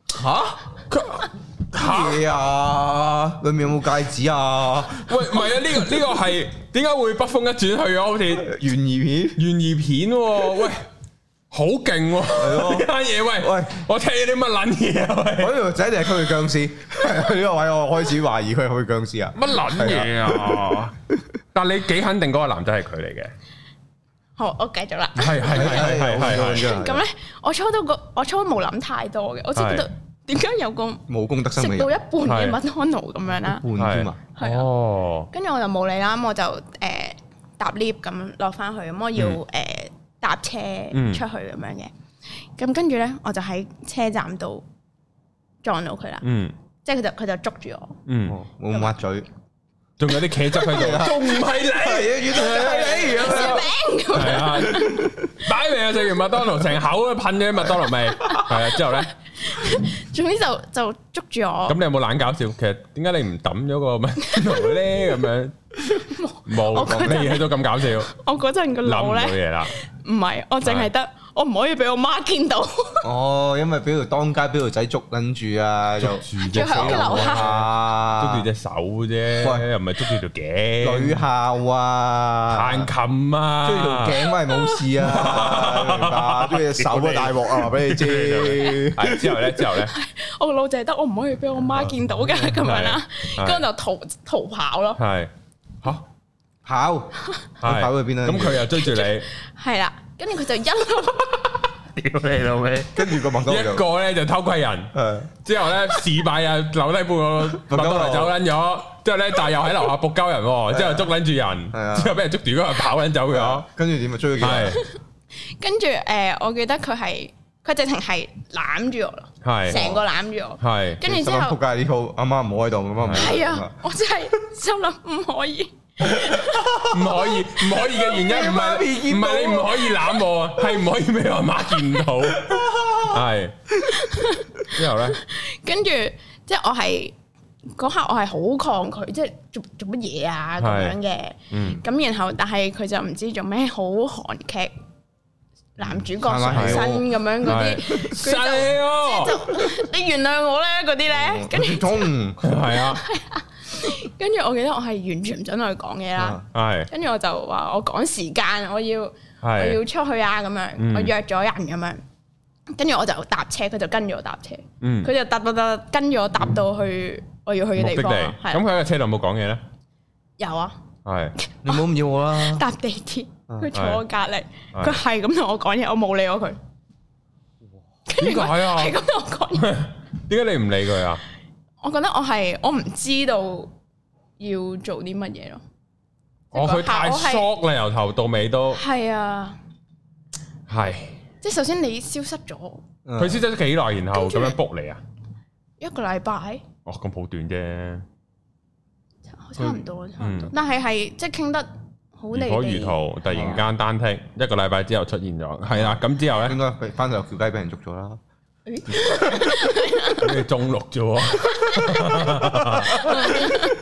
嘢啊！裏面有冇戒指啊？ 喂，唔係啊！呢個係點解會北風一轉去啊？好似懸疑片喂，好勁喎！呢單嘢喂，我聽啲乜撚嘢啊？喂， 嗰條仔定係佢嘅僵屍？呢個位我開始懷疑佢係佢僵屍啊！ 乜撚嘢啊？但你幾肯定嗰個男仔係佢嚟嘅？ 好，我繼續啦。 係。 咁咧，我初都冇諗太多嘅，我只覺得點解有個冇公德心食到一半嘅麥當勞咁樣啦？ 半添啊！ 哦，跟住我就冇理啦，咁我就搭 lift 咁落翻去，咁我要搭車出去咁樣嘅。咁跟住咧，我就喺車站度撞到佢啦。即係佢就捉住我。 冇抹嘴。 仲有啲茄汁喺度，仲唔係你？原來係你，係啊！擺明啊，食完麥當勞成口都噴咗啲麥當勞味，係啊！之後咧， 總之就捉住我。 咁你有冇懶搞笑？其實點解你唔抌咗個麥當勞咧？咁樣冇，你喺度咁搞笑。 我嗰陣個腦咧， 諗唔到嘢啦。 唔係，我淨係得。我唔可以俾我媽見到。 因為俾條當街俾條仔捉緊住啊， 捉住隻手啊，捉住隻手啫，又唔係捉住條頸。 女校啊， 彈琴啊， 捉住條頸咪冇事啊，明白？捉住隻手啊，大鑊啊，話俾你知。 係之後咧， 我個腦就係得我唔可以俾我媽見到嘅咁樣啦，跟住就逃跑咯。 係嚇跑去邊啊？ 咁佢又追住你。 係啦。跟住佢就一路屌你老味，跟住個麥當勞一個咧就偷窺人，之後咧事敗啊留低半個麥當勞走撚咗，之後咧但係又喺樓下仆鳩人，之後捉撚住人，之後俾人捉住嗰個跑撚走咗， 跟住點啊追佢？係跟住我記得佢直情係攬住我咯，係成個攬住我，係跟住之後仆街呢鋪阿媽唔好喺度，阿媽唔係啊，我真係心諗唔可以。 唔可以嘅原因唔係你唔可以攬我，係唔可以俾我媽見到。係之後咧， 跟住即係我係嗰刻我係好抗拒，即係做乜嘢啊咁樣嘅。咁然後但係佢就唔知做咩好韓劇男主角上身咁樣嗰啲，你原諒我咧嗰啲咧，跟住係啊。 跟住我記得我係完全唔准同佢講嘢啦，跟住我就話我趕時間，我要出去啊咁樣，我約咗人咁樣，跟住我就搭車，佢就跟住我搭車，佢就搭跟住我搭到去我要去嘅地方。 咁佢喺個車度冇講嘢咧？ 有啊， 係你唔好咁要我啦。 搭地鐵，佢坐我隔籬，佢係咁同我講嘢，我冇理我佢。 點解啊？ 係咁同我講嘢。 點解你唔理佢啊？ 我覺得我唔知道要做啲乜嘢咯。 佢太 shock 啦，由頭到尾都係啊， 係。 即係首先你消失咗， 佢消失咗幾耐，然後咁樣 book 你啊 ？1個禮拜。 哦，咁好短啫， 差唔多，但係即係傾得好離地。如火如荼，突然間單剔1個禮拜之後出現咗，係啦。咁之後咧， 應該翻到條街俾人捉咗啦。 你中六啫喎，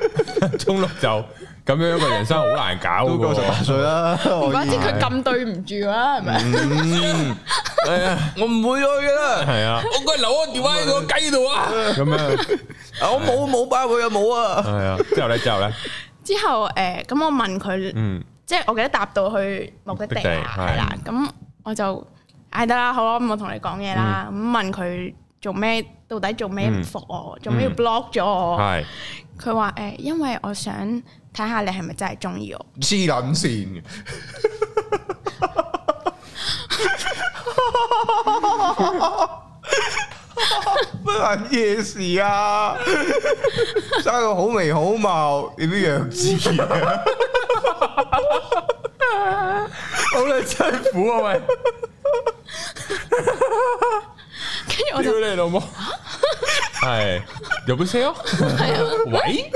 中六就咁樣個人生好難搞， 都過18歲啦。 唔怪之佢咁對唔住啦，係咪？ 係啊，我唔會去噶啦。 係啊，我過嚟留我電話喺個雞度啊。咁樣， 我冇包佢又冇啊。係啊，之後咧， 之後咁我問佢，即係我記得搭到去目的地係啦，咁我就嗌得啦，好啦，咁我同你講嘢啦，咁問佢做咩，到底做咩唔復我，做咩要 block 咗我？係佢話因為我想睇下你係咪真係中意我。 黐撚線嘅，乜撚嘢事啊？生個好眉好貌，點樣弱智啊？ 好撚辛苦啊喂！ 跟住我就屌你老母，係有冇聲？ 係啊， 喂，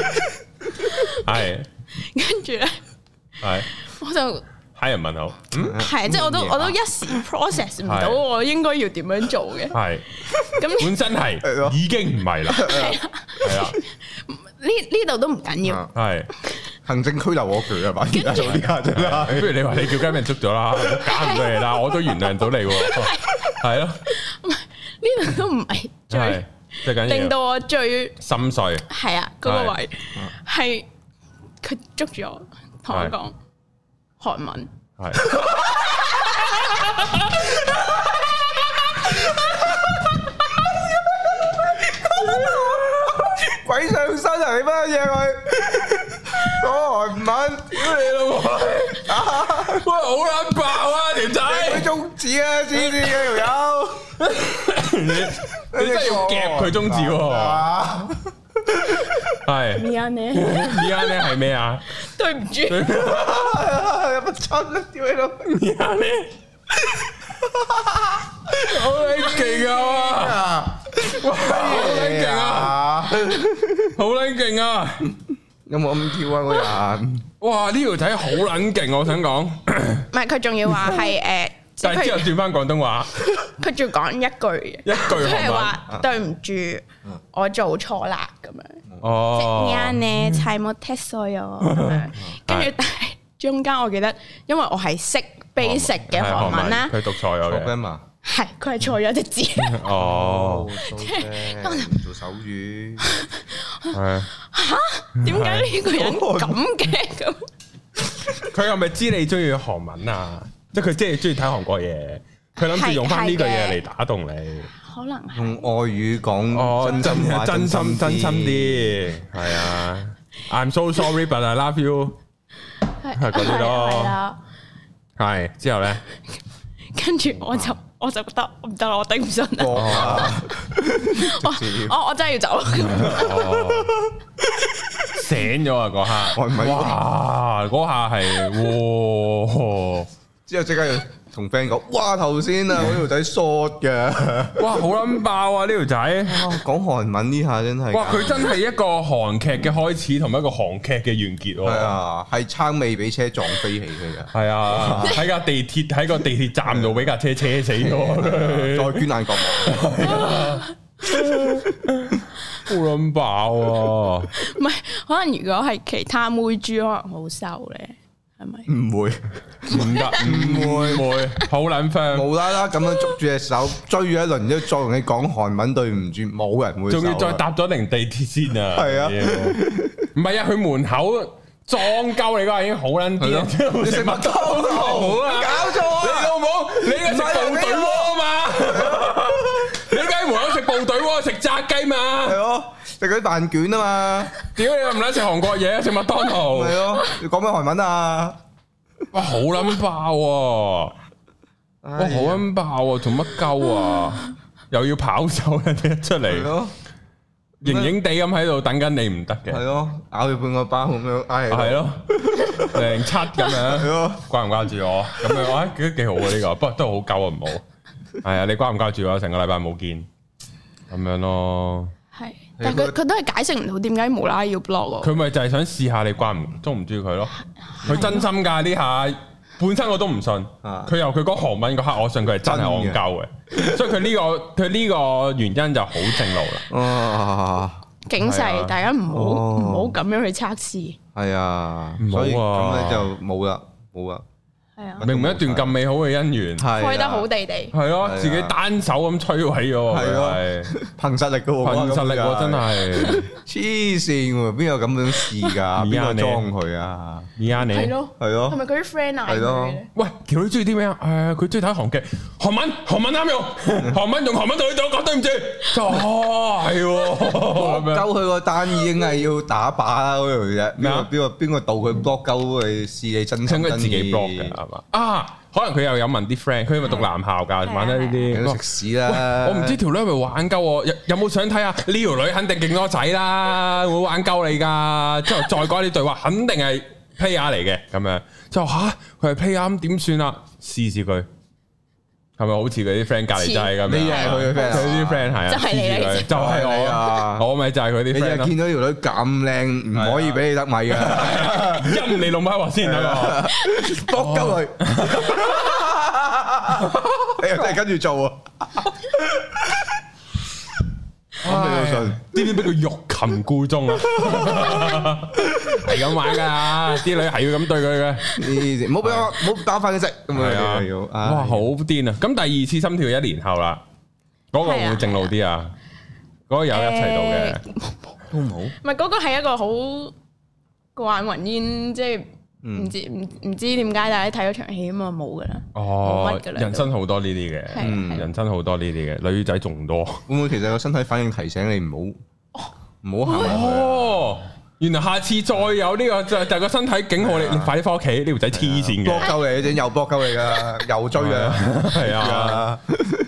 係， 跟住咧， 係， 我就黑人問號， 係，即係我都一時 process 唔到我應該要點樣做嘅， 係，咁本身係已經唔係啦，係啊， 呢度都唔緊要， 係行政拘留我佢係嘛？而家做呢下真係， 不如你話你叫雞俾人捉咗啦，搞唔到你啦，我都原諒到你喎，係咯， 呢度都唔係最令到我最心碎， 係啊，嗰個位係佢捉住我，同我講韓文，係。 鬼上身啊！你乜嘢佢講韓文，屌你老母！ 喂，好撚爆啊條仔！ 佢中指啊，知唔知嘅條友？ 你真係要夾佢中指喎！係。 咪呀你？ 咪呀你係咩啊？ 對唔住。 有乜春啊？屌你老！ 咪呀你？好撚勁啊！哇，好撚勁啊！好撚勁啊！ 有冇咁跳啊？個人哇，呢條仔好撚勁，我想講。 唔係，佢仲要話係但係之後轉翻廣東話， 佢仲講一句，佢係話對唔住，我做錯啦咁樣。哦，即係呢，齊冇踢碎我咁樣。跟住，但係中間我記得，因為我係識 basic 嘅韓文啦， 佢讀錯咗嘅。 係，佢係錯咗隻字。 哦，做手語。 係。 嚇？點解呢個人咁嘅咁？ 佢係咪知你中意韓文啊？即係佢即係中意睇韓國嘢，佢諗住用翻呢句嘢嚟打動你。 可能係用外語講真心啲。係啊 ，I'm so sorry but I love you。係嗰啲咯。係之後咧，跟住我就覺得唔得啦，我頂唔順啦。我真係要走。 醒咗啊！嗰下，哇！嗰下係， 之後即刻要同 friend 講，哇！頭先啊，嗰條仔 short 嘅， 哇！好撚爆啊！呢條仔講韓文呢下真係， 哇！佢真係一個韓劇嘅開始，同埋一個韓劇嘅完結喎。 係啊，係撐尾俾車撞飛起佢嘅。 係啊，喺個地鐵站度俾架車車死咗， 再捐眼角膜。 好撚爆啊！ 唔係，可能如果係其他妹豬，可能好瘦咧，係咪？ 唔會， 唔得，唔會，好撚 friend， 無啦啦咁樣捉住隻手追咗一輪，之後再同你講韓文，對唔住，冇人會。仲要再搭咗定地鐵先啊！ 係啊， 唔係啊，佢門口裝鳩你嗰下已經好撚癲，你食麥當勞啊？搞錯啊！你老母，你係食部隊鍋啊嘛？你喺門口食部隊鍋，食炸雞嘛？ 係咯，食嗰啲飯卷啊嘛？ 屌你又唔撚食韓國嘢，食麥當勞？ 係咯，你講咩韓文啊？ 哇，好撚爆喎！哇，好撚爆喎！做乜鳩啊？又要跑走人哋出嚟，型型地咁喺度等緊你唔得嘅。 係咯，咬佢半個包咁樣， 係咯，07咁樣，掛唔掛住我？咁樣我覺得幾好啊呢個，不過都好鳩啊，唔好。係啊，你掛唔掛住我？成個禮拜冇見，咁樣咯。係， 但係佢都係解釋唔到點解無啦啦要 block 我。 佢咪就係想試下你中唔中意佢咯？佢真心㗎呢下，本身我都唔信。佢由佢講韓文嗰刻，我信佢係真係戇鳩嘅。所以佢呢個原因就好正路啦。 警示大家唔好咁樣去測試。 係啊，所以咁咧就冇啦。 係啊， 明明一段咁美好嘅姻緣， 開得好地地， 係咯，自己單手咁摧毀咗，係咯， 憑實力噶喎， 憑實力喎，真係黐線喎，邊有咁樣試噶？邊個裝佢啊？ 而家你係咯， 係咪佢啲 friend 嗌佢嘅？ 喂，條女中意啲咩啊？佢中意睇韓劇，韓文啱用，韓文同韓文對對講對唔住，係喎， 鳩佢個單已經係要打靶啦嗰條啫，邊個導佢 block 鳩去試你真心真意？自己 block 嘅係嘛？可能佢又有問啲 friend，佢咪讀男校㗎，玩得呢啲食屎啦！ 我唔知條女係咪玩鳩我，有冇想睇啊？呢條女肯定勁多仔啦，會玩鳩你㗎。之後再講啲對話，肯定係 player 嚟嘅咁樣。就佢係 player 咁點算啊？試佢係咪好似佢啲 friend 隔離仔咁？ 你係佢嘅 friend， 佢啲 friend 係啊， 就係你， 就係我啊！我咪就係佢啲 friend 咯。 你見到條女咁靚，唔可以俾你得米㗎， 陰你老母話先啊！ 搏鳩佢，你又真係跟住做啊！咁你都信？ 知唔知俾佢欲擒故縱啊？係咁玩噶，啲女係要咁對佢嘅。 唔好俾我，唔好打翻佢食。 係啊，哇，好癲啊！咁第二次心跳1年後啦，嗰個會正路啲啊？嗰個有一齊到嘅都冇。 唔係嗰個係一個好過眼雲煙，即係唔知點解大家睇咗場戲啊嘛，冇噶啦。 哦，人生好多呢啲嘅，人生好多呢啲嘅，女仔仲多。 會唔會其實個身體反應提醒你唔好行埋去？ 哦，原來下次再有呢個就個身體警號你快啲翻屋企，呢條仔黐線嘅， 搏鳩你，整又搏鳩你噶，又追啊， 係啊，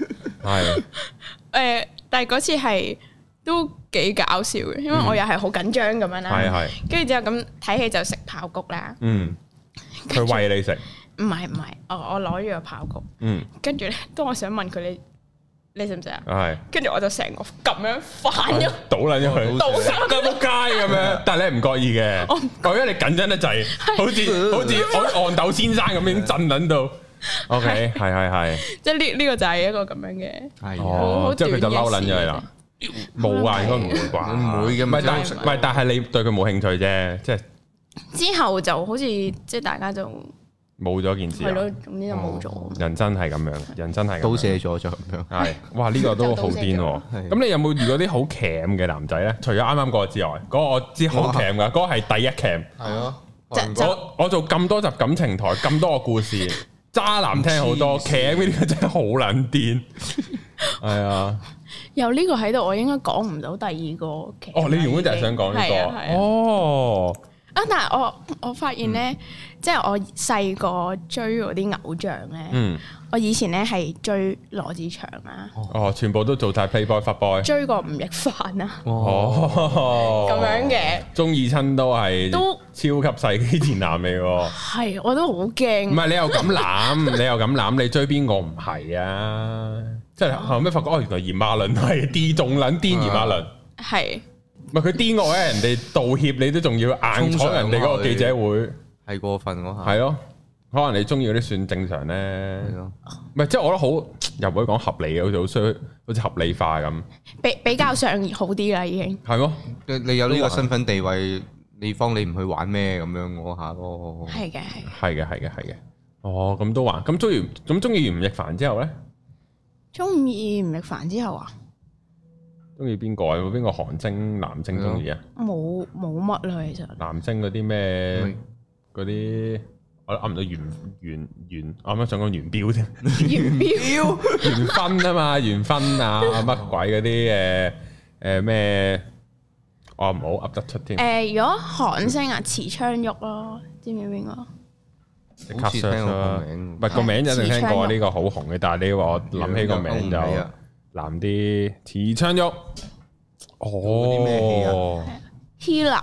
係。 但係嗰次係都幾搞笑嘅，因為我又係好緊張咁樣啦，跟住之後咁睇戲就食爆谷啦。 佢餵你食？ 唔係，我攞住個爆谷。跟住咧，當我想問佢你食唔食啊？係。跟住我就成個咁樣反咗， 倒撚咗佢，倒晒個仆街咁樣。但係你唔覺意嘅，我因為你緊張得滯，好似憨豆先生咁樣震撚到。OK，係。 即係呢個就係一個咁樣嘅， 係即係佢就嬲撚咗你啦。冇啊，應該唔會啩？ 唔會嘅， 唔係，但係你對佢冇興趣啫，即係之後就好似即係大家就冇咗件事， 係咯，總之就冇咗。 人真係咁樣，人真係都卸咗就咁樣。 係，哇！呢個都好癲喎。咁你有冇遇過啲好 cam 嘅男仔咧？除咗啱啱嗰個之外，嗰個我知好 cam 噶，嗰個係第一 cam。係咯，我做咁多集感情台，咁多個故事，渣男聽好多 cam 呢啲真係好撚癲。係啊。 有呢個喺度，我應該講唔到第二個劇。 你原本就係想講呢個。 但係我發現咧，即係我細個追嗰啲偶像咧，我以前咧係追羅志祥啊。 全部都做晒 Playboy、Fuckboy。追過吳亦凡啊。咁樣嘅。中意親都係超級世紀賤男嚟喎。係，我都好驚。唔係你又咁諗，你追邊個唔係啊？即係後尾發覺原來炎亞綸係啲仲撚癲炎亞綸。係。唔係佢癲我咧，人哋道歉你都仲要硬闖人哋嗰個記者會，係過分嗰下。係咯，可能你中意嗰啲算正常咧。係咯，唔係即係我覺得好又唔可以講合理嘅，好似好衰，好似合理化咁。比較上好啲啦，已經係咯。 你有呢個身份地位，你方你唔去玩咩咁樣嗰下咯？係嘅。咁都玩。咁中意完吳亦凡之後咧？ 中意吳亦凡之後啊？ 中意邊個啊？有冇邊個韓星男星中意啊？冇乜啦，其實。男星嗰啲咩？嗰啲我噏唔到元，我啱啱想講元彪添。元勳啊嘛，元勳啊乜鬼嗰啲咩？我唔好噏得出添。 如果韓星啊，池昌旭咯，知唔知邊個？ 即刻 search 啦，唔係個名一定聽過呢個好紅嘅，但係你話我諗起個名就。男啲池昌旭，啲咩戲啊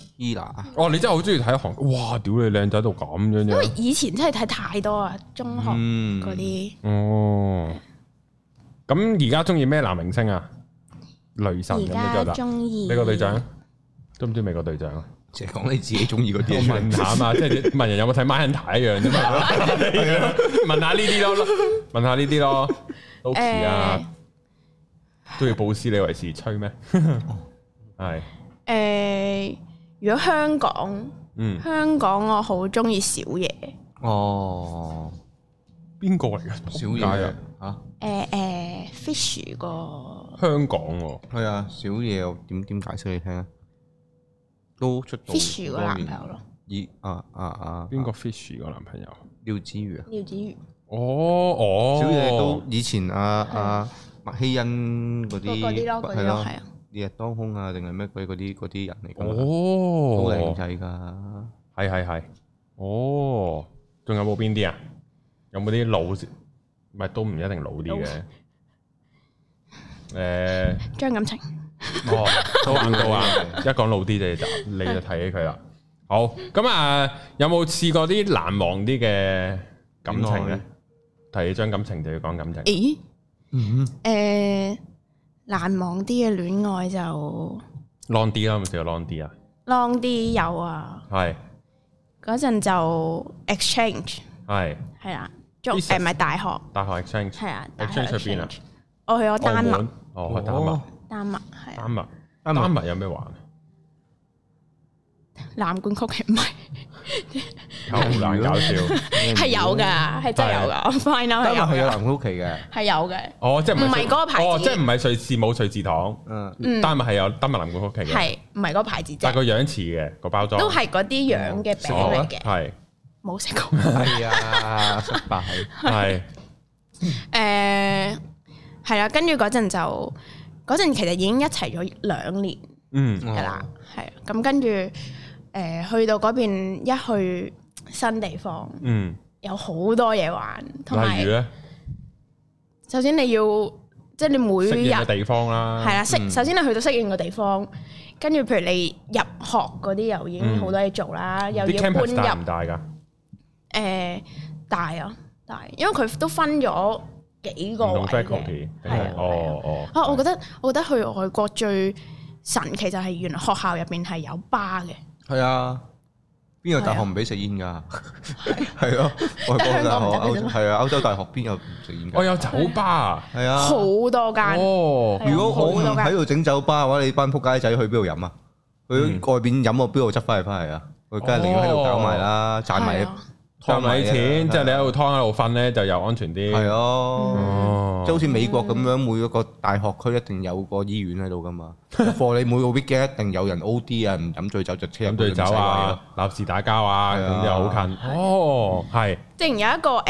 ？Hila， 你真係好中意睇韓國，哇！屌你靚仔到咁樣啫！ 因為以前真係睇太多啊，中學嗰啲。 咁而家中意咩男明星啊？雷神咁樣就得。 中意美國隊長，都唔知美國隊長啊？ 即係講你自己中意嗰啲。 問下啊嘛，即係問人有冇睇 Mindhunter 一樣啫嘛。問下呢啲咯，都似啊。都要布斯李維斯吹咩？ 係如果香港，香港我好中意小野。 哦，邊個嚟㗎？小野啊 ？Fish 個香港喎。 係啊，小野我點解釋你聽啊？都出到 Fish 個男朋友咯。 邊個 Fish 個男朋友？ 廖子妤啊。 廖子妤。 小野都以前麥希恩嗰啲係咯，烈日當空啊，定係咩嗰啲人嚟㗎嘛？好靚仔㗎。 係。仲有冇邊啲啊？有冇啲老？唔係都唔一定老啲嘅。 張錦程。 都硬到啊！一講老啲你就睇起佢啦。好，咁啊，有冇試過啲難忘啲嘅感情咧？提起張錦程就要講感情。 咦？難忘啲嘅戀愛就 long 啲啦，有冇試過 long 啲啊 ？long 啲有啊。係。嗰陣就 exchange。係啦，唔係大學。 大學 exchange。係啊。exchange 去邊啊？ 我去咗丹麥。 丹麥係。丹麥有咩玩？ 藍罐曲奇唔係。 好難搞笑。 係有㗎，係真係有㗎。我 find out 係有。 係有藍罐曲奇嘅。 係有嘅。 即係唔係嗰個牌子。 即係唔係瑞士冇瑞士糖。丹麥係有丹麥藍罐曲奇嘅。係唔係嗰個牌子啫？ 但係個樣似嘅個包裝。 都係嗰啲樣嘅餅嚟嘅。係。冇食過。 係啊，失敗。 係。 係啦，跟住嗰陣其實已經一齊咗2年。係啦，係。咁跟住去到嗰邊一去新地方，有好多嘢玩，同埋例如咧， 首先你要即係你每日適應嘅地方啦， 係啦，首先你去到適應嘅地方，跟住譬如你入學嗰啲又已經好多嘢做啦，又要搬入。大唔大㗎？大，因為佢都分咗幾個位嘅。係啊，我覺得去外國最神奇就係原來學校入邊係有吧嘅。 係啊，邊個大學唔俾食煙㗎？係咯，外國大學係啊，歐洲大學邊有唔食煙㗎？ 我有酒吧，係啊， 好多間。 如果我唔喺度整酒吧嘅話，你班仆街仔去邊度飲啊？去外邊飲，我邊度執翻嚟啊？佢梗係寧願喺度搞埋啦，賺埋啲錢，即係你喺度劏喺度瞓咧，就又安全啲。 係咯，即係好似美國咁樣，每一個大學區一定有個醫院喺度噶嘛。課你每個 weekend 一定有人 OD 啊，唔飲醉酒就車飲醉酒啊，鬧事打交啊，咁又好近。係。之前有一個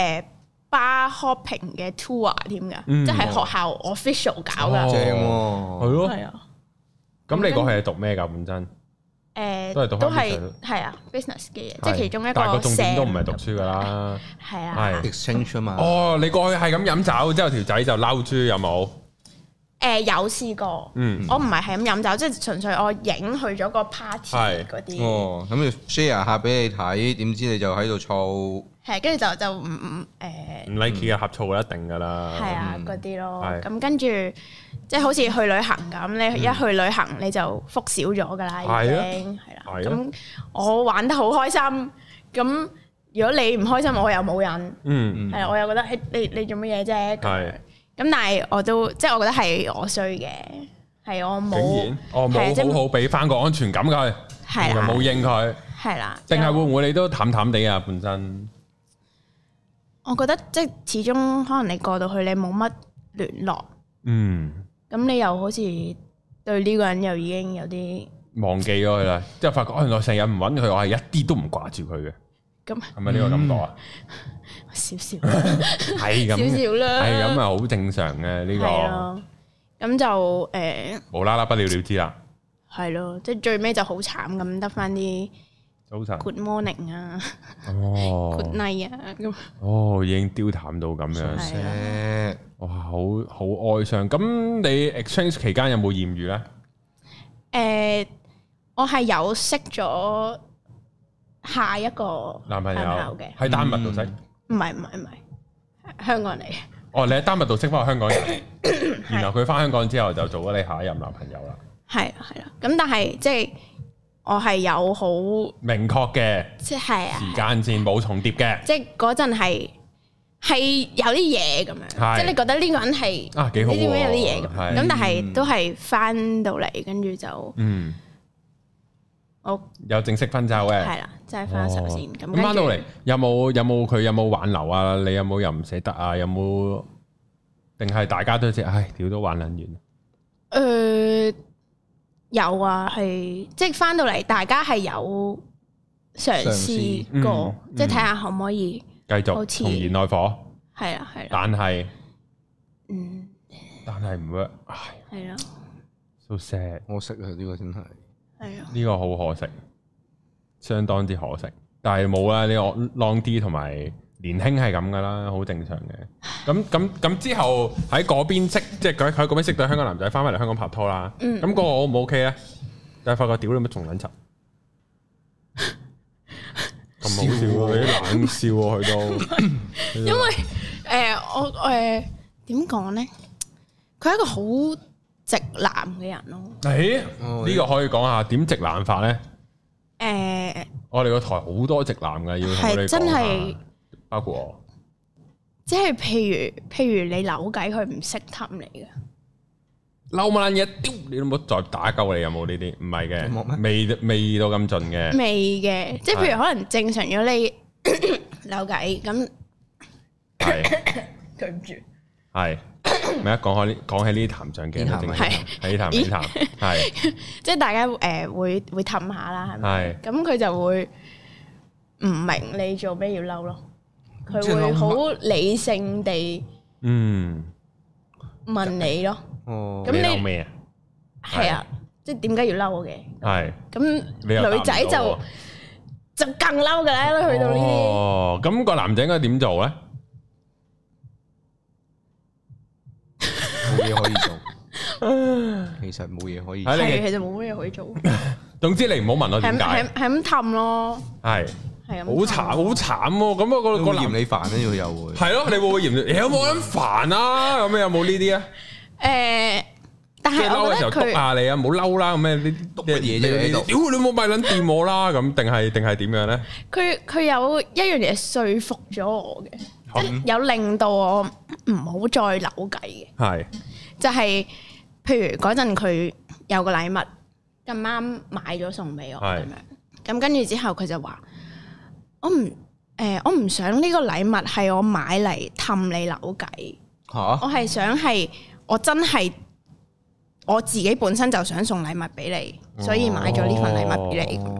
bar hopping 嘅 tour 添㗎，即係學校 official 搞㗎。 正喎， 係咯。 係啊。 咁你個係讀咩㗎？本身？ 都係啊 business 嘅嘢，即係其中一個。 但係個重點都唔係讀書㗎啦。 係啊。 係 exchange 啊嘛。 你過去係咁飲酒，之後條仔就嬲豬，有冇？ 有試過。我唔係咁飲酒，即係純粹我影去咗個 party 嗰啲。 咁要 share 下俾你睇，點知你就喺度燥。係， 跟住就唔 like 嘅呷醋一定㗎啦。 係啊，嗰啲咯。咁跟住即係好似去旅行咁，你一去旅行你就福少咗㗎啦，已經係啦。咁我玩得好開心，咁如果你唔開心，我又冇癮。係我又覺得你做乜嘢啫？咁但係我都即係我覺得係我衰嘅，係我冇。竟然冇好好俾翻個安全感佢，又冇應佢， 係啦。 定係會唔會你都淡淡地啊？本身我覺得即係始終可能你過到去你冇乜聯絡，咁你又好似對呢個人又已經有啲忘記咗佢啦，之後發覺原來成日唔揾佢，我係一啲都唔掛住佢嘅。咁係咪呢個感覺啊？ 少少係咁，少少啦，係咁啊，好正常嘅呢個。咁就無啦啦不了了之啦。 係咯，即係最尾就好慘咁，得翻啲早晨 Good morning 啊，Good night 啊咁。已經丟淡到咁樣，哇，好哀傷。咁你 exchange 期間有冇艷遇咧？ 我係有識咗下一個男朋友嘅，喺丹麥度識。 唔係，香港嚟。 你喺丹麥度識翻個香港人，然後佢翻香港之後就做咗你下一任男朋友啦。係啦，咁但係即係我係有好明確嘅，即係時間線冇重疊嘅。 即係嗰陣係係有啲嘢咁樣，即係你覺得呢個人係啊幾好，呢啲咩有啲嘢咁，但係都係翻到嚟，跟住就我有正式分手嘅， 係啦，即係分手先咁。 翻到嚟有冇佢有冇挽留啊？你有冇又唔捨得啊？有冇定係大家都知唉，屌都玩撚完？ 有啊，係即係翻到嚟，大家係有嘗試過，即係睇下可唔可以繼續重燃愛火。 係啦，係啦。 但係唔 work， 唉。 係啊。 So sad， 可惜啊！呢個真係。 係啊。呢個好可惜，相當之可惜。但係冇啦，呢個 long D 同埋年輕係咁噶啦，好正常嘅。咁之後喺嗰邊識，即係佢喺嗰邊識到香港男仔，翻返嚟香港拍拖啦。咁嗰個 O 唔 OK 咧？但係發覺屌你乜仲撚柒，咁好笑喎！你啲冷笑喎，佢都。 因為我點講咧？佢係一個好直男嘅人咯。 呢個可以講下點直男法咧？我哋個台好多直男嘅，要同你講下。真係包括我。 即係譬如你扭計，佢唔識氹你嘅。 嬲乜撚嘢？丟你都冇再打鳩你，有冇呢啲？唔係嘅，未到咁盡嘅。 未嘅，即係譬如可能正常咗你扭計咁。係。對唔住。係。 咪一講起呢啲談上鏡，係呢談，係。即係大家會氹下啦，係咪？係。咁佢就會唔明你做咩要嬲咯？佢會好理性地問你咯。咁你嬲咩啊？係啊，即係點解要嬲嘅？係。咁女仔就更嬲噶啦，去到呢啲。 哦，咁個男仔應該點做咧？ 冇嘢可以做。其實冇嘢可以做。 係，其實冇乜嘢可以做。 總之你唔好問我點解。係咁氹咯。係。係好慘，好慘喎！咁啊個嫌你煩咧，又會係咯，你會唔會嫌？有冇咁煩啊？咁有冇呢啲啊？ 但係嬲嘅時候督下你啊，唔好嬲啦！咁咩呢啲乜嘢啫？屌你冇咪撚掂我啦！咁定係點樣咧？ 佢有一樣嘢說服咗我嘅，即係有令到我唔好再扭計嘅。係就係譬如嗰陣佢有個禮物咁啱買咗送俾我咁樣，咁跟住之後佢就話。我唔想呢個禮物係我買嚟氹你扭計，我係想係我真係我自己本身就想送禮物俾你，所以買咗呢份禮物俾你。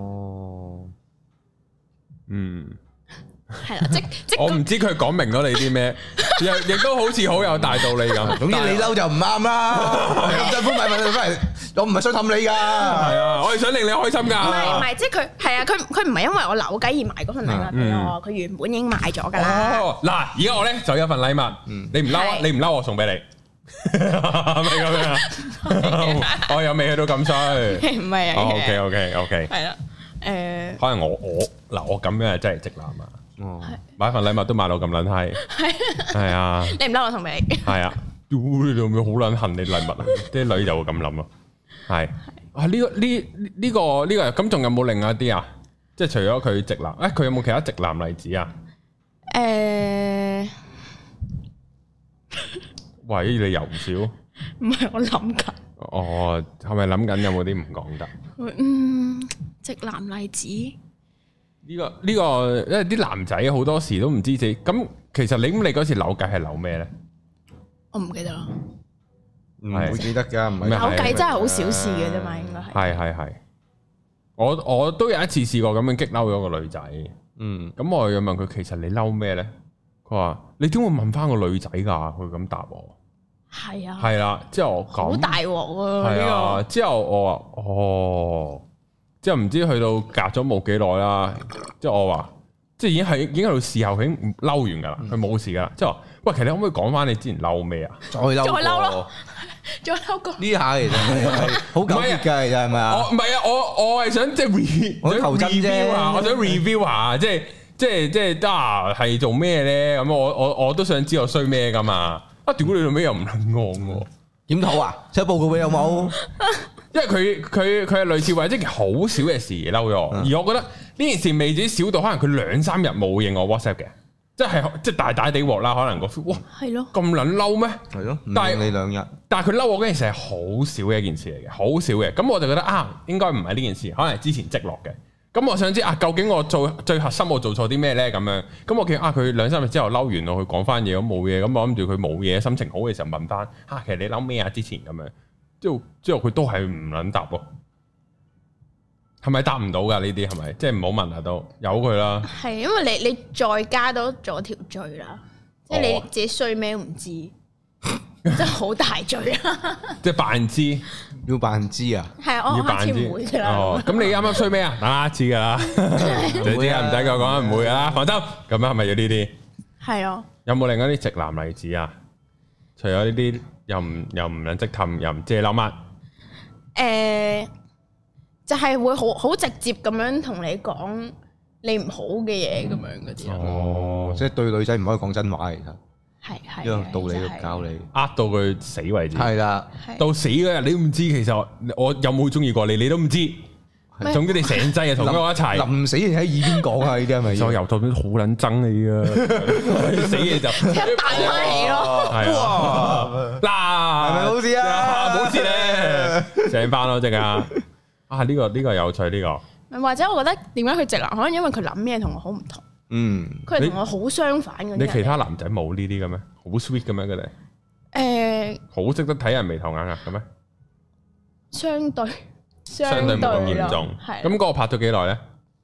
係啦，即我唔知佢講明咗你啲咩，亦都好似好有大道理咁。 總之你嬲就唔啱啦，咁辛苦買份禮物翻嚟，我唔係想氹你噶，係啊，我係想令你開心噶。 唔係，即係佢係啊，佢唔係因為我扭計而買嗰份禮物俾我，佢原本已經買咗噶啦。 嗱，而家我咧就有份禮物，你唔嬲，你唔嬲我送俾你，係咪咁樣？我又未去到咁衰，唔係啊。OK，係啦，可能我咁樣真係直男啊。買份禮物都買到咁撚閪，係啊！ 你唔嬲我送俾你， 係啊！屌你老味好撚恨你禮物啊！啲女就會咁諗咯，係啊！呢個咁仲有冇另外一啲啊？即係除咗佢直男，佢有冇其他直男例子啊？喂，你又唔少？ 唔係我諗緊。 哦，係咪諗緊有冇啲唔講得？ 直男例子。 呢個，因為啲男仔好多時都唔知自己咁。其實你嗰時扭計係扭咩咧？ 我唔記得啦， 唔會記得噶。 扭計真係好小事嘅啫嘛，應該係。 係。我都有一次試過咁樣激嬲咗個女仔。咁我又問佢，其實你嬲咩咧？佢話你點會問翻個女仔噶？佢咁答我。係啊。係啦，之後我講好大鑊喎。 係啊，之後我話哦。之後唔知去到隔咗冇幾耐啦，即係我話，即係已經喺度事後，佢已經嬲完噶啦，佢冇事噶啦。即係話，喂，其實你可唔可以講翻你之前嬲咩啊？ 再嬲咯，再嬲過呢下其實係好糾結噶，其實係咪啊？ 唔係啊，我係想即係我求真啫， 我想 review 下，即係係做咩咧？咁我都想知我衰咩噶嘛？啊，屌你做咩又唔肯講喎？ 檢討啊？寫報告俾有冇？ 因為佢係類似為一件好少嘅事而嬲咗，而我覺得呢件事未至少到可能佢2-3日冇應我 WhatsApp 嘅， 即係大大地鑊啦，可能個 feel 哇係咯， 咁撚嬲咩？ 係咯，但係你2日，但係佢嬲我嗰件事係好少嘅一件事嚟嘅，好少嘅。咁我就覺得應該唔係呢件事，可能係之前積落嘅。咁我想知究竟我最核心我做錯啲咩咧？咁樣，咁我見佢2-3日之後嬲完我，佢講翻嘢咁冇嘢，咁我諗住佢冇嘢，心情好嘅時候問翻其實你嬲咩之前咁樣，之後佢都係唔撚答喎。係咪答唔到噶呢啲？係咪即係唔好問啊？都由佢啦。係因為你再加多咗條罪啦，即係你自己衰咩都唔知，真係好大罪啊！ 即係扮知， 要扮知啊？ 係我下次唔會噶啦。 咁你啱啱衰咩啊？等下知噶啦，你知啊？唔使佢講，唔會噶啦，放心。咁樣係咪要呢啲？係啊。有冇另一啲直男例子啊？除咗呢啲，又唔撚即氹，又唔知你諗乜？ 就係會好直接咁樣同你講你唔好嘅嘢咁樣嗰啲即係對女仔唔可以講真話，其實係因為道理教你， 到佢死為止。係啦， 到死嗰日你都唔知，其實我有冇中意過你，你都唔知。總之你成劑同我一齊，臨死前喺耳邊講啊！呢啲係咪？就由頭到尾好撚憎你啊！死嘢就一大你咯。 係嗱，係咪冇事啊？ 冇事咧，醒翻咯，即刻。呢個有趣呢個， 或者我覺得點解佢直男，可能因為佢諗嘢同我好唔同。佢係同我好相反嘅。 你其他男仔冇呢啲嘅咩？好 sweet 嘅咩佢哋？好識得睇人眉頭眼額嘅咩？ 相對冇咁嚴重。咁嗰個拍咗幾耐咧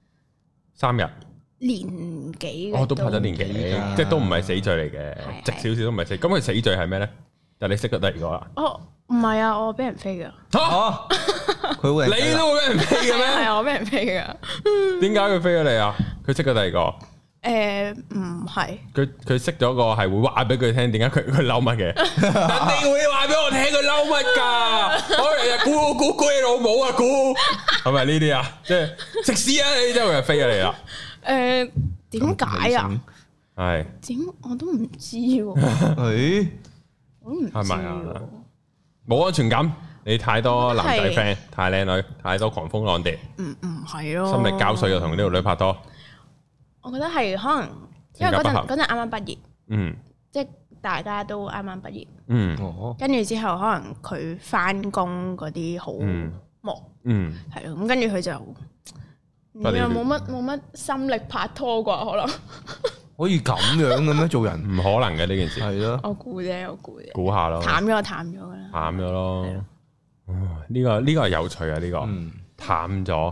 ？3日。 年幾？ 都拍咗年幾，即係都唔係死罪嚟嘅，直少少都唔係死。咁佢死罪係咩咧？就你識得第二個啦。 唔係啊，我俾人飛噶。 佢會你都會俾人飛嘅咩？ 係啊，我俾人飛噶。 點解佢飛咗你啊？佢識咗第二個？ 唔係。 佢識咗個係會話俾佢聽，點解佢嬲乜嘅？人哋會話俾我聽佢嬲乜噶？我日日估你老母啊，估係咪呢啲啊？即係食屎啊！你真係飛咗你啦。 點解啊？ 係點我都唔知喎。我都唔知。係咪啊？ 冇安全感。你太多男仔 friend， 太靚女，太多狂蜂浪蝶。 唔係咯。 心力交瘁又同呢條女拍拖。 我覺得係可能，因為嗰陣啱啱畢業。即係大家都啱啱畢業。跟住之後可能佢翻工嗰啲好忙。係咯，咁跟住佢就又冇乜心力拍拖啩，可能。 可以咁樣嘅咩？做人唔可能嘅呢件事。係咯。 我估啫。 估下咯。 淡咗噶啦。 淡咗咯。呢個係有趣啊！呢個淡咗。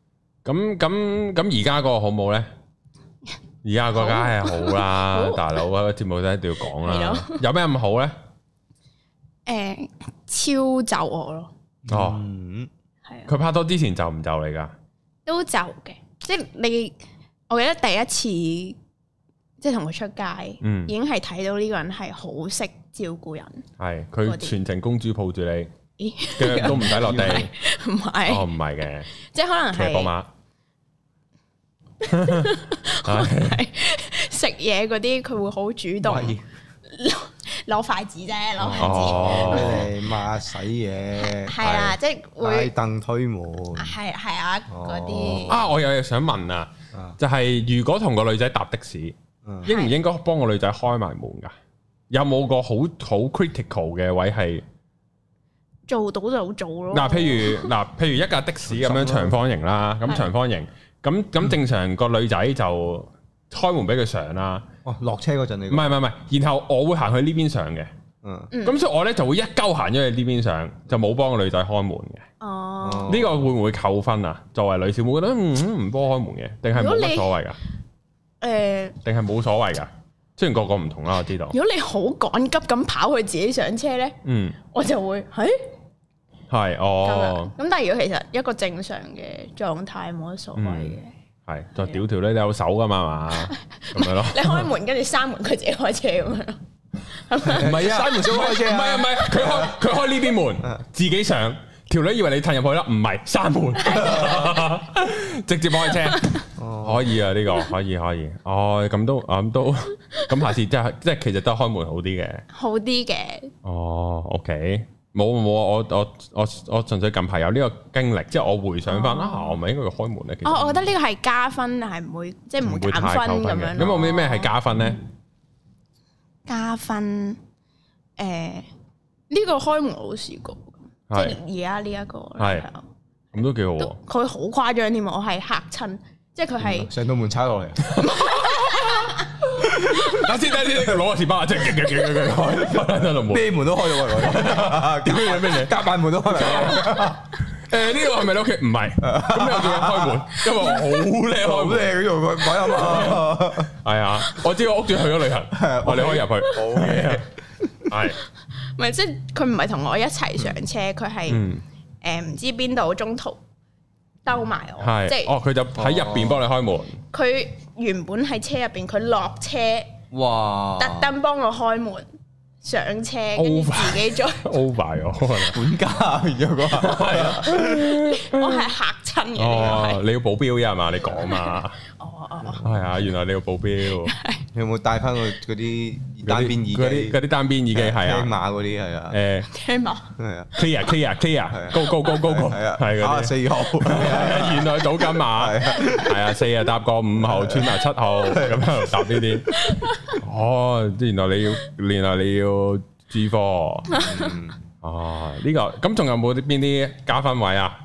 咁而家嗰個好冇咧？而家個梗係好啦，大佬啊，個節目都一定要講啦。有咩咁好咧？ 超就我咯。 係啊。佢拍拖之前就唔就你噶？ 都就嘅，即係你，我記得第一次即係同佢出街，已經係睇到呢個人係好識照顧人。係佢全程公主抱住你，腳都唔使落地。 唔係， 唔係嘅， 即係可能係騎寶馬。 食嘢嗰啲佢會好主動，攞筷子啫，攞筷子俾你抹洗嘢， 係啊，即係會拉凳推門， 係啊嗰啲。 我有嘢想問啊，就係如果同個女仔搭的士，應唔應該幫個女仔開埋門噶？有冇個好 critical 嘅位係做到就做咯？ 譬如一架的士咁樣長方形啦，咁長方形。咁正常個女仔就開門俾佢上啦。 落車嗰陣你唔係，然後我會行去呢邊上嘅。咁所以我咧就會一鳩行咗去呢邊上，就冇幫個女仔開門嘅。呢個會唔會扣分啊？作為女小妹覺得唔幫開門嘅，定係冇乜所謂噶？定係冇所謂噶？雖然個個唔同啦，我知道。 如果你好趕急咁跑去自己上車咧，我就會係咁但係如果其實一個正常嘅狀態冇乜所謂嘅， 係就屌條女有手噶嘛，咁樣咯。 你開門跟住閂門，佢自己開車咁樣。 唔係啊，閂門先開車。唔係，佢開呢邊門，自己上。條女以為你褪入去啦，唔係閂門，直接開車。可以啊，呢個可以。咁都咁下次即係其實都開門好啲嘅。 好啲嘅。 OK。 冇，我純粹近排有呢個經歷，即係我回想翻我咪應該要開門咧。其實我覺得呢個係加分，係唔會即係唔會減分咁樣。 咁有咩係加分咧？ 加分呢個開門我都試過，即係而家呢一個係咁都幾好喎。 佢好誇張添，我係嚇親，即係佢係成道門拆落嚟。 等先，攞個士巴即係開， 咩門都開到喎，咩夾板門都開埋。 呢個係咪你屋企？唔係，咁你又叫我開門？因為我好叻， 好叻呢個鬼啊嘛。 係啊，我知我屋主去咗旅行，我哋可以入去。好嘅，係。 唔係即係佢唔係同我一齊上車，佢係唔知邊度中途兜埋我，即係佢就喺入邊幫你開門。 佢原本喺車入邊，佢落車，哇！特登幫我開門上車，跟住自己再 over 咗， 管家變咗個，係啊！ 我係嚇親嘅。 你要保鏢呀嘛？你講嘛？係啊！原來你要保鏢。 你有冇帶翻嗰啲單邊耳機？ 嗰啲單邊耳機係啊， 聽馬嗰啲係啊， 聽馬係啊 ，clear，go，係啊，係嗰啲4號，原來賭緊馬，係啊，4啊搭過5號，穿埋7號，咁喺度搭呢啲。原來你要G科，呢個咁仲有冇邊啲加分位啊？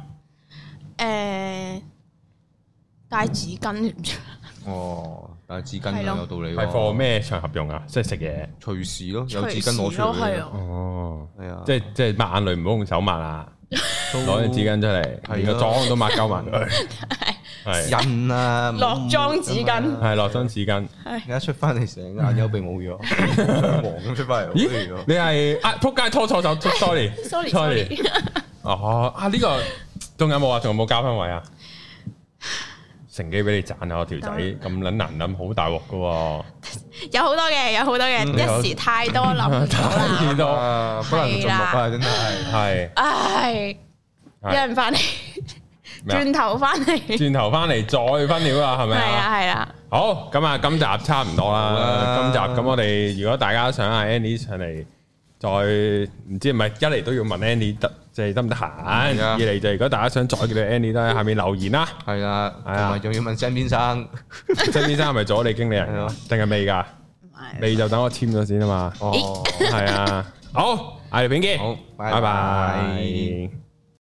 帶紙巾。 但係紙巾有道理喎， 係放咩場合用啊？即係食嘢， 隨時咯，有紙巾攞出嚟。 係啊，即係抹眼淚唔好用手抹啊，攞張紙巾出嚟，連個妝都抹鳩埋佢。係印啊， 落妝紙巾， 係落妝紙巾。 而家出翻嚟成眼幽鼻冇咗，黃咁出翻嚟。 咦？你係仆街拖錯手 ，sorry。呢個仲有冇啊？仲有冇加分位啊？乘機俾你賺下我條仔咁撚難諗，好大鑊噶喎！ 有好多嘅，一時太多諗唔到啦， 太多不能做目啊！真係唉，有人翻嚟，轉頭翻嚟再分料啦，係咪啊？ 係啦。 好，咁啊，今集差唔多啦。今集咁我哋如果大家想阿 Annie 上嚟，再唔知係咪一嚟都要問 Annie 即係得唔得閒？二嚟就如果大家想再叫你 Annie 都喺下面留言啦。 係啊，同埋仲要問 Sam 先生 ，Sam 先生係咪做咗你經理人定係未㗎？未就等我簽咗先啊嘛。係啊，好，下條片見，好，拜拜。